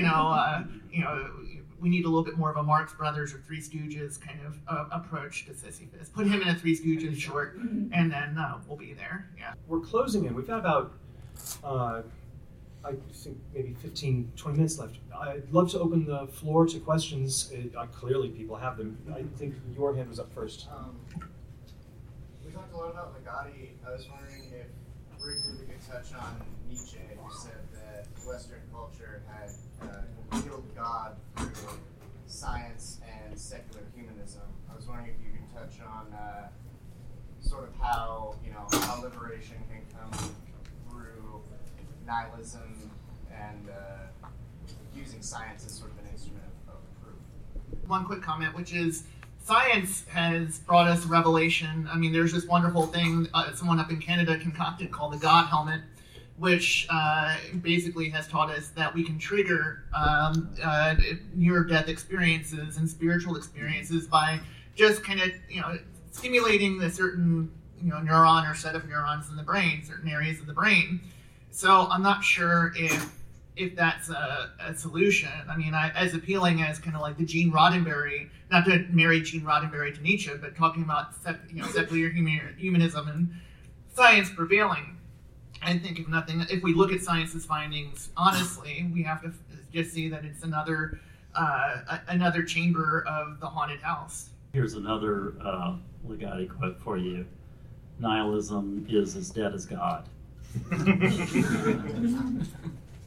we need a little bit more of a Marx Brothers or Three Stooges kind of approach to Sisyphus. Put him in a Three Stooges short, and then we'll be there. Yeah. We're closing in. We've got about, I think maybe 15, 20 minutes left. I'd love to open the floor to questions. Clearly people have them. I think your hand was up first. We talked a lot about Ligotti. I was wondering if briefly we could touch on Nietzsche, who said that Western culture had concealed God through science and secular humanism. I was wondering if you could touch on sort of how liberation can come through nihilism and using science as sort of an instrument of proof. One quick comment, which is science has brought us revelation. I mean, there's this wonderful thing someone up in Canada concocted called the God helmet, which basically has taught us that we can trigger near-death experiences and spiritual experiences by just kind of, stimulating a certain, neuron or set of neurons in the brain, certain areas of the brain. So I'm not sure if that's a solution. I mean, as appealing as kind of like the Gene Roddenberry, not to marry Gene Roddenberry to Nietzsche, but talking about secular humanism and science prevailing. I think if we look at science's findings honestly, we have to just see that it's another chamber of the haunted house. Here's another Ligotti quote for you. Nihilism is as dead as God.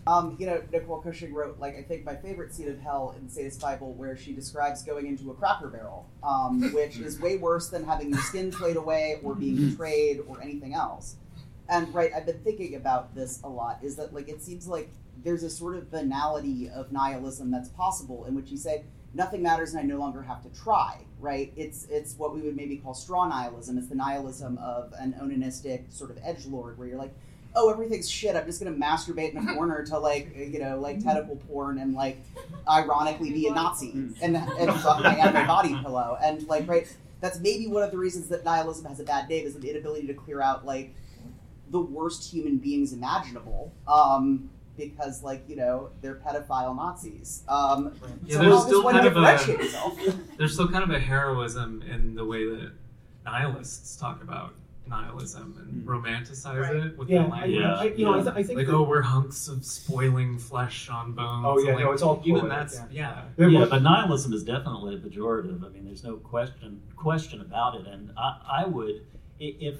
Nicole Cushing wrote, like, I think my favorite scene of hell in the Sadist Bible, where she describes going into a Cracker Barrel, which is way worse than having your skin played away or being betrayed or anything else. And, right, I've been thinking about this a lot, is that, like, it seems like there's a sort of banality of nihilism that's possible, in which you say, nothing matters and I no longer have to try, right? It's what we would maybe call straw nihilism. It's the nihilism of an onanistic sort of edgelord, where you're like, oh, everything's shit, I'm just going to masturbate in a corner to, like tentacle porn and, like, ironically be a Nazi and fuck my anime body pillow. And, like, right, that's maybe one of the reasons that nihilism has a bad name, is the inability to clear out, like, the worst human beings imaginable, because, like, they're pedophile Nazis. So there's still kind of there's still kind of a heroism in the way that nihilists talk about nihilism and romanticize it with the language. I think like, we're hunks of spoiling flesh on bones. Oh yeah, like, no, it's all even poetic, that's yeah. But nihilism is definitely a pejorative. I mean, there's no question about it. And I would, if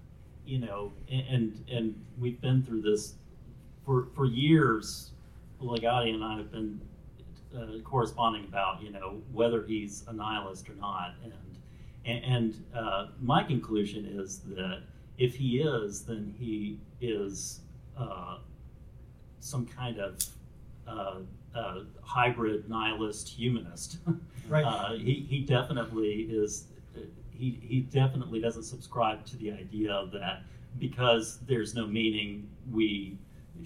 and we've been through this for years. Ligotti and I have been corresponding about whether he's a nihilist or not, and my conclusion is that if he is, then he is some kind of hybrid nihilist humanist. Right. He definitely is. He definitely doesn't subscribe to the idea that because there's no meaning, we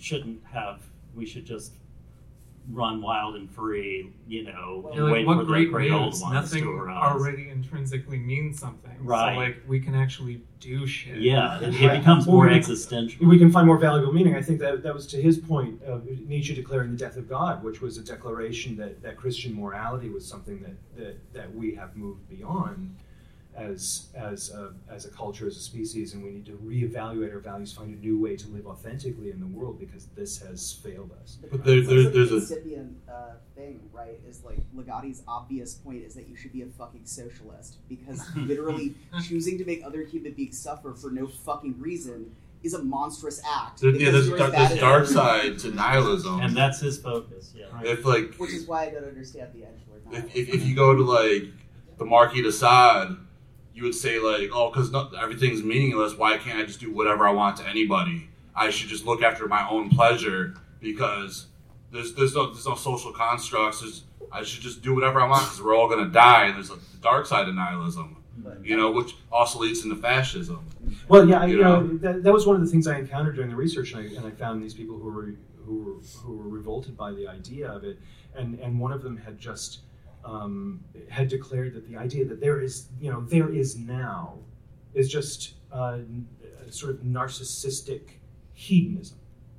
should just run wild and free, and wait what for great the great old news. ones Nothing to arise. already intrinsically means something. Right. So, like, we can actually do shit. Yeah, it becomes more existential. We can find more valuable meaning. I think that was to his point of Nietzsche declaring the death of God, which was a declaration that Christian morality was something that we have moved beyond as a culture, as a species, and we need to reevaluate our values, find a new way to live authentically in the world, because this has failed us. But there's a incipient thing, right? Is like Ligotti's obvious point is that you should be a fucking socialist, because literally choosing to make other human beings suffer for no fucking reason is a monstrous act. There's dark side to nihilism, and that's his focus. Yeah, right. Which is why I don't understand the edgelord. If you go to, like, the Marquis de Sade, you would say, like, oh, because everything's meaningless, why can't I just do whatever I want to anybody? I should just look after my own pleasure, because there's no social constructs. I should just do whatever I want, because we're all going to die. And there's the dark side of nihilism, which also leads into fascism. Well, yeah, that was one of the things I encountered during the research, and I found these people who were revolted by the idea of it, and one of them had just had declared that the idea that there is now is just sort of narcissistic hedonism,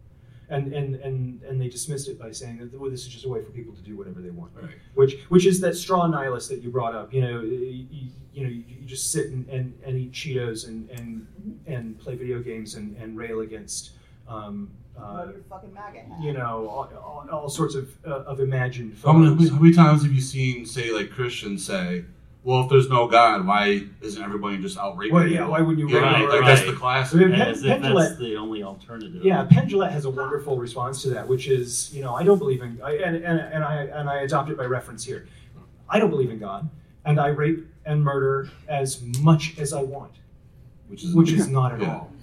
and they dismissed it by saying that, well, this is just a way for people to do whatever they want, right. which is that straw nihilist that you brought up. You just sit and eat Cheetos and play video games and rail against. Fucking MAGA hat. All sorts of imagined How photos. many times have you seen, say, like, Christians say, well, if there's no God, why isn't everybody just out raping Well, yeah, people? why wouldn't you rape rape? Like, that's the classic. As if that's the only alternative. Yeah, Penn Jillette has a wonderful response to that, which is, I don't believe in, and I adopt it by reference here. I don't believe in God, and I rape and murder as much as I want, which is not at all.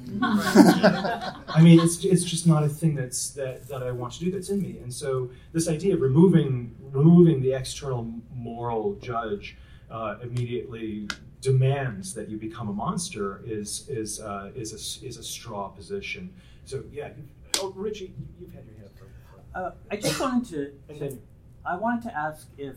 I mean, it's just not a thing that I want to do, that's in me. And so this idea of removing the external moral judge immediately demands that you become a monster is a straw position. So yeah, Richie, you've had your hand up. I just wanted to ask if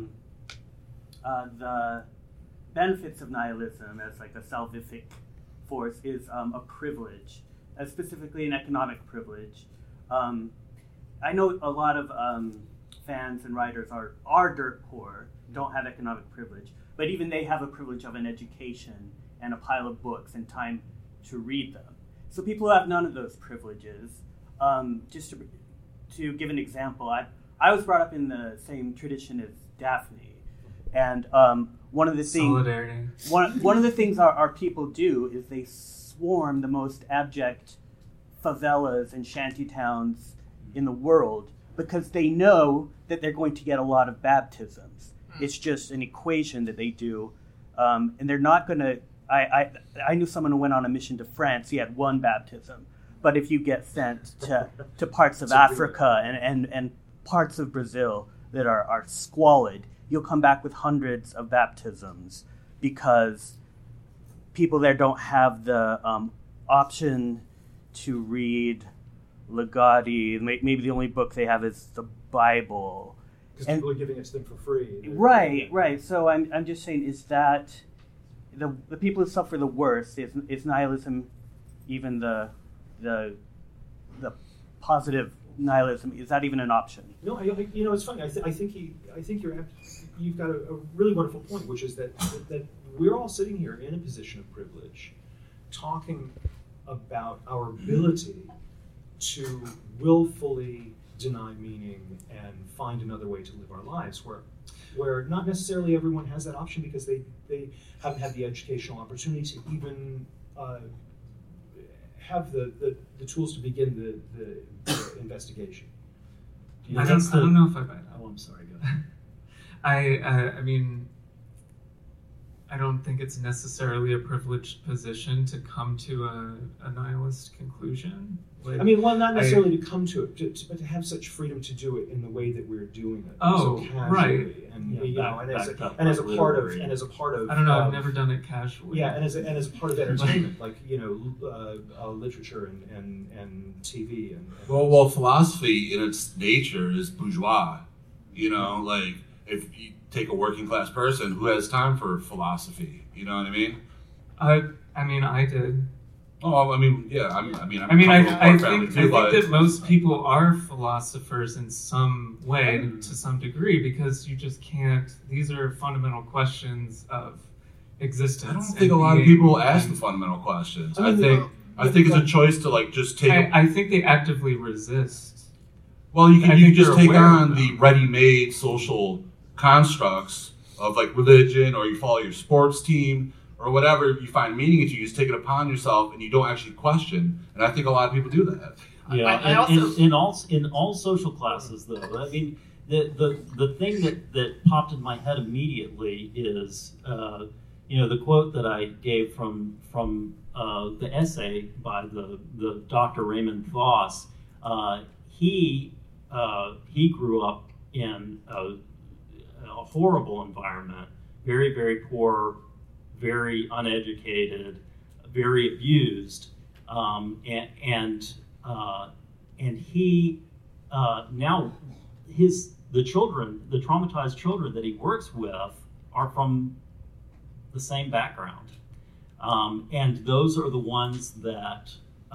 the benefits of nihilism as like a salvific force is a privilege, specifically an economic privilege. I know a lot of fans and writers are dirt poor, don't have economic privilege, but even they have a privilege of an education and a pile of books and time to read them. So people who have none of those privileges, just to give an example, I was brought up in the same tradition as Daphne, and one of the things our people do is they swarm the most abject favelas and shanty towns in the world because they know that they're going to get a lot of baptisms. It's just an equation that they do, and they're not going to. I knew someone who went on a mission to France. He had one baptism, but if you get sent to parts of Africa and parts of Brazil that are squalid, you'll come back with hundreds of baptisms because people there don't have the option to read Legati. Maybe the only book they have is the Bible. Because people are giving it to them for free. Right. So I'm just saying, is that the people who suffer the worst? Is nihilism even the positive nihilism? Is that even an option? No, it's funny. I think you've got a really wonderful point, which is that we're all sitting here in a position of privilege, talking about our ability to willfully deny meaning and find another way to live our lives, where not necessarily everyone has that option because they haven't had the educational opportunity to even have the tools to begin the investigation. I don't know if I buy that. Oh, I'm sorry. Go ahead. I mean, I don't think it's necessarily a privileged position to come to a nihilist conclusion. Not necessarily to come to it, but to have such freedom to do it in the way that we're doing it. Oh, so casually, right. And as a part of I don't know. I've never done it casually. Yeah, and as a part of entertainment, like literature and TV and well, philosophy in its nature is bourgeois. Like if you take a working class person who has time for philosophy, you know what I mean? I did. Oh, I think that most people are philosophers in some way, to some degree, because you just can't. These are fundamental questions of existence. I don't think a lot of people ask the fundamental questions. I think it's a choice to just take. I think they actively resist. Well, you can just take on the ready-made social constructs of religion, or you follow your sports team, or whatever you find meaning into. You just take it upon yourself, and you don't actually question. And I think a lot of people do that. Yeah, in all social classes, though. I mean, the thing that popped in my head immediately is the quote that I gave from the essay by the Dr. Raymond Voss. He grew up in a horrible environment, very, very poor, very uneducated, very abused, and he now the traumatized children that he works with are from the same background, and those are the ones that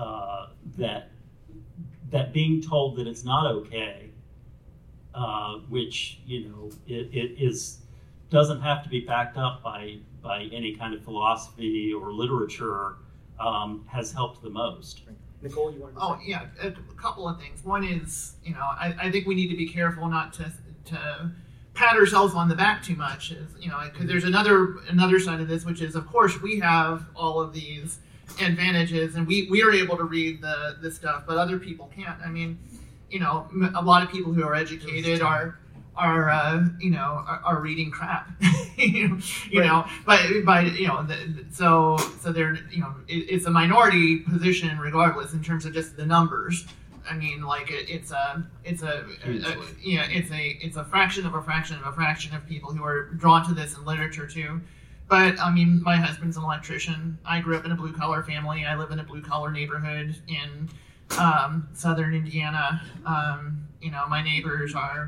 being told that it's not okay, which it doesn't have to be backed up by any kind of philosophy or literature, has helped the most. Nicole, you want to? Oh yeah, a couple of things. One is, I think we need to be careful not to pat ourselves on the back too much. Because there's another side of this, which is, of course, we have all of these advantages, and we are able to read the stuff, but other people can't. I mean, a lot of people who are educated are reading crap, so they're, it's a minority position regardless in terms of just the numbers. I mean, it's a fraction of a fraction of a fraction of people who are drawn to this in literature too. But I mean, my husband's an electrician. I grew up in a blue collar family. I live in a blue collar neighborhood in southern Indiana. My neighbors are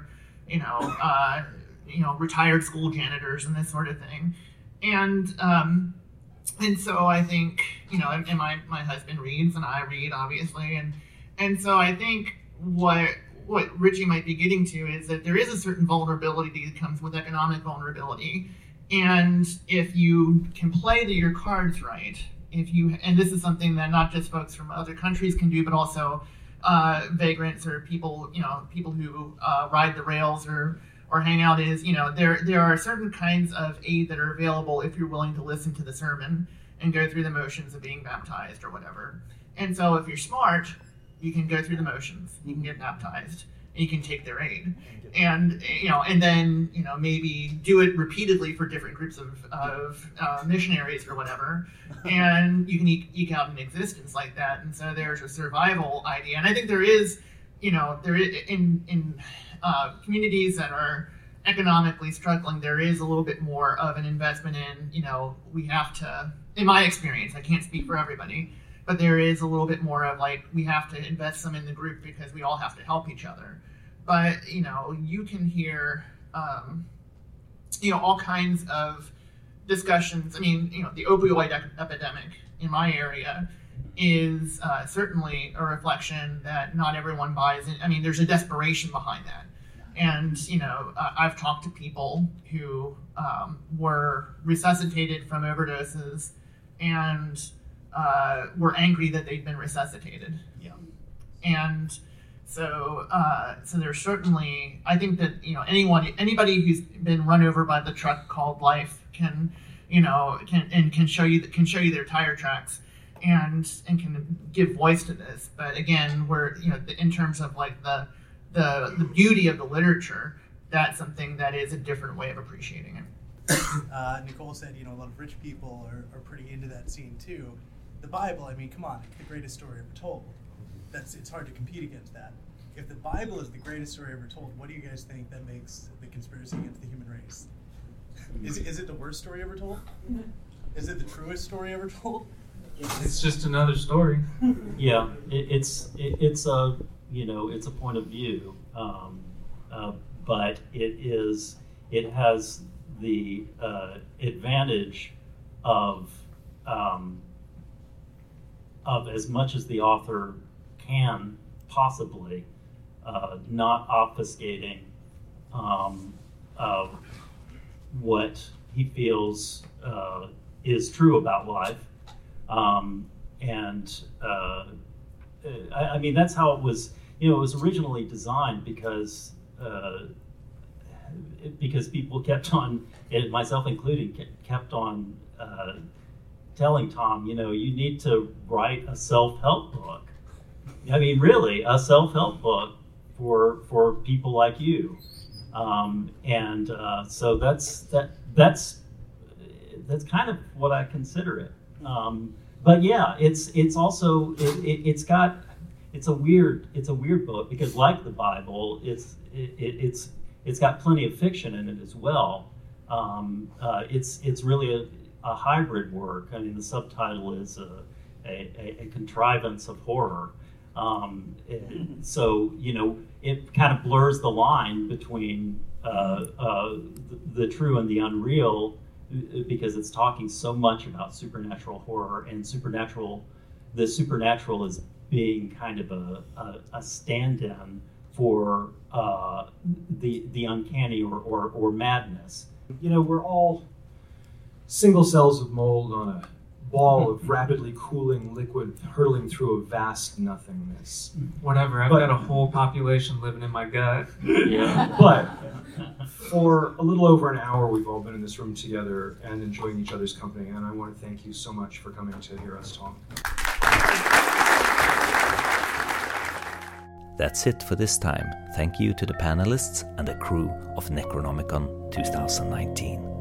retired school janitors and this sort of thing. And so I think, and my husband reads and I read, obviously. And so I think what Richie might be getting to is that there is a certain vulnerability that comes with economic vulnerability. And if you can play your cards right, and this is something that not just folks from other countries can do, but also vagrants or people who ride the rails or hang out, is, there are certain kinds of aid that are available if you're willing to listen to the sermon and go through the motions of being baptized or whatever. And so if you're smart, You can go through the motions. You can get baptized. And you can take their aid. And then maybe do it repeatedly for different groups of missionaries or whatever, and you can eke out an existence like that. And so there's a survival idea, and I think there is in communities that are economically struggling, there is a little bit more of an investment in we have to. In my experience, I can't speak for everybody, but there is a little bit more of like we have to invest some in the group because we all have to help each other. But you can hear all kinds of discussions. I mean, the opioid epidemic in my area is certainly a reflection that not everyone buys in. I mean, there's a desperation behind that. And, I've talked to people who were resuscitated from overdoses and were angry that they'd been resuscitated. Yeah. And so there's certainly, I think that, anybody who's been run over by the truck called life can show you their tire tracks and can give voice to this. But again, we're, in terms of like the beauty of the literature, that's something that is a different way of appreciating it. Nicole said, a lot of rich people are pretty into that scene too. The Bible, I mean, come on, it's the greatest story ever told. It's hard to compete against that. If the Bible is the greatest story ever told, what do you guys think that makes the conspiracy against the human race? Is it the worst story ever told? Is it the truest story ever told? It's just another story. Yeah, it's a point of view, but it has the advantage of as much as the author can possibly not obfuscating what he feels is true about life. I mean, that's how it was. It was originally designed because people kept on, myself included, kept on telling Tom, you need to write a self-help book. I mean, really, a self-help book for people like you. So that's kind of what I consider it. But yeah, it's also it's a weird book because, like the Bible, it's got plenty of fiction in it as well. It's really a hybrid work. I mean, the subtitle is a contrivance of horror. So it kind of blurs the line between the true and the unreal, because it's talking so much about supernatural horror, and the supernatural is being kind of a stand-in for the uncanny or madness. We're all single cells of mold on a ball of rapidly cooling liquid hurtling through a vast nothingness. Whatever, I've got a whole population living in my gut. Yeah. But for a little over an hour, we've all been in this room together and enjoying each other's company, and I want to thank you so much for coming to hear us talk. That's it for this time. Thank you to the panelists and the crew of Necronomicon 2019.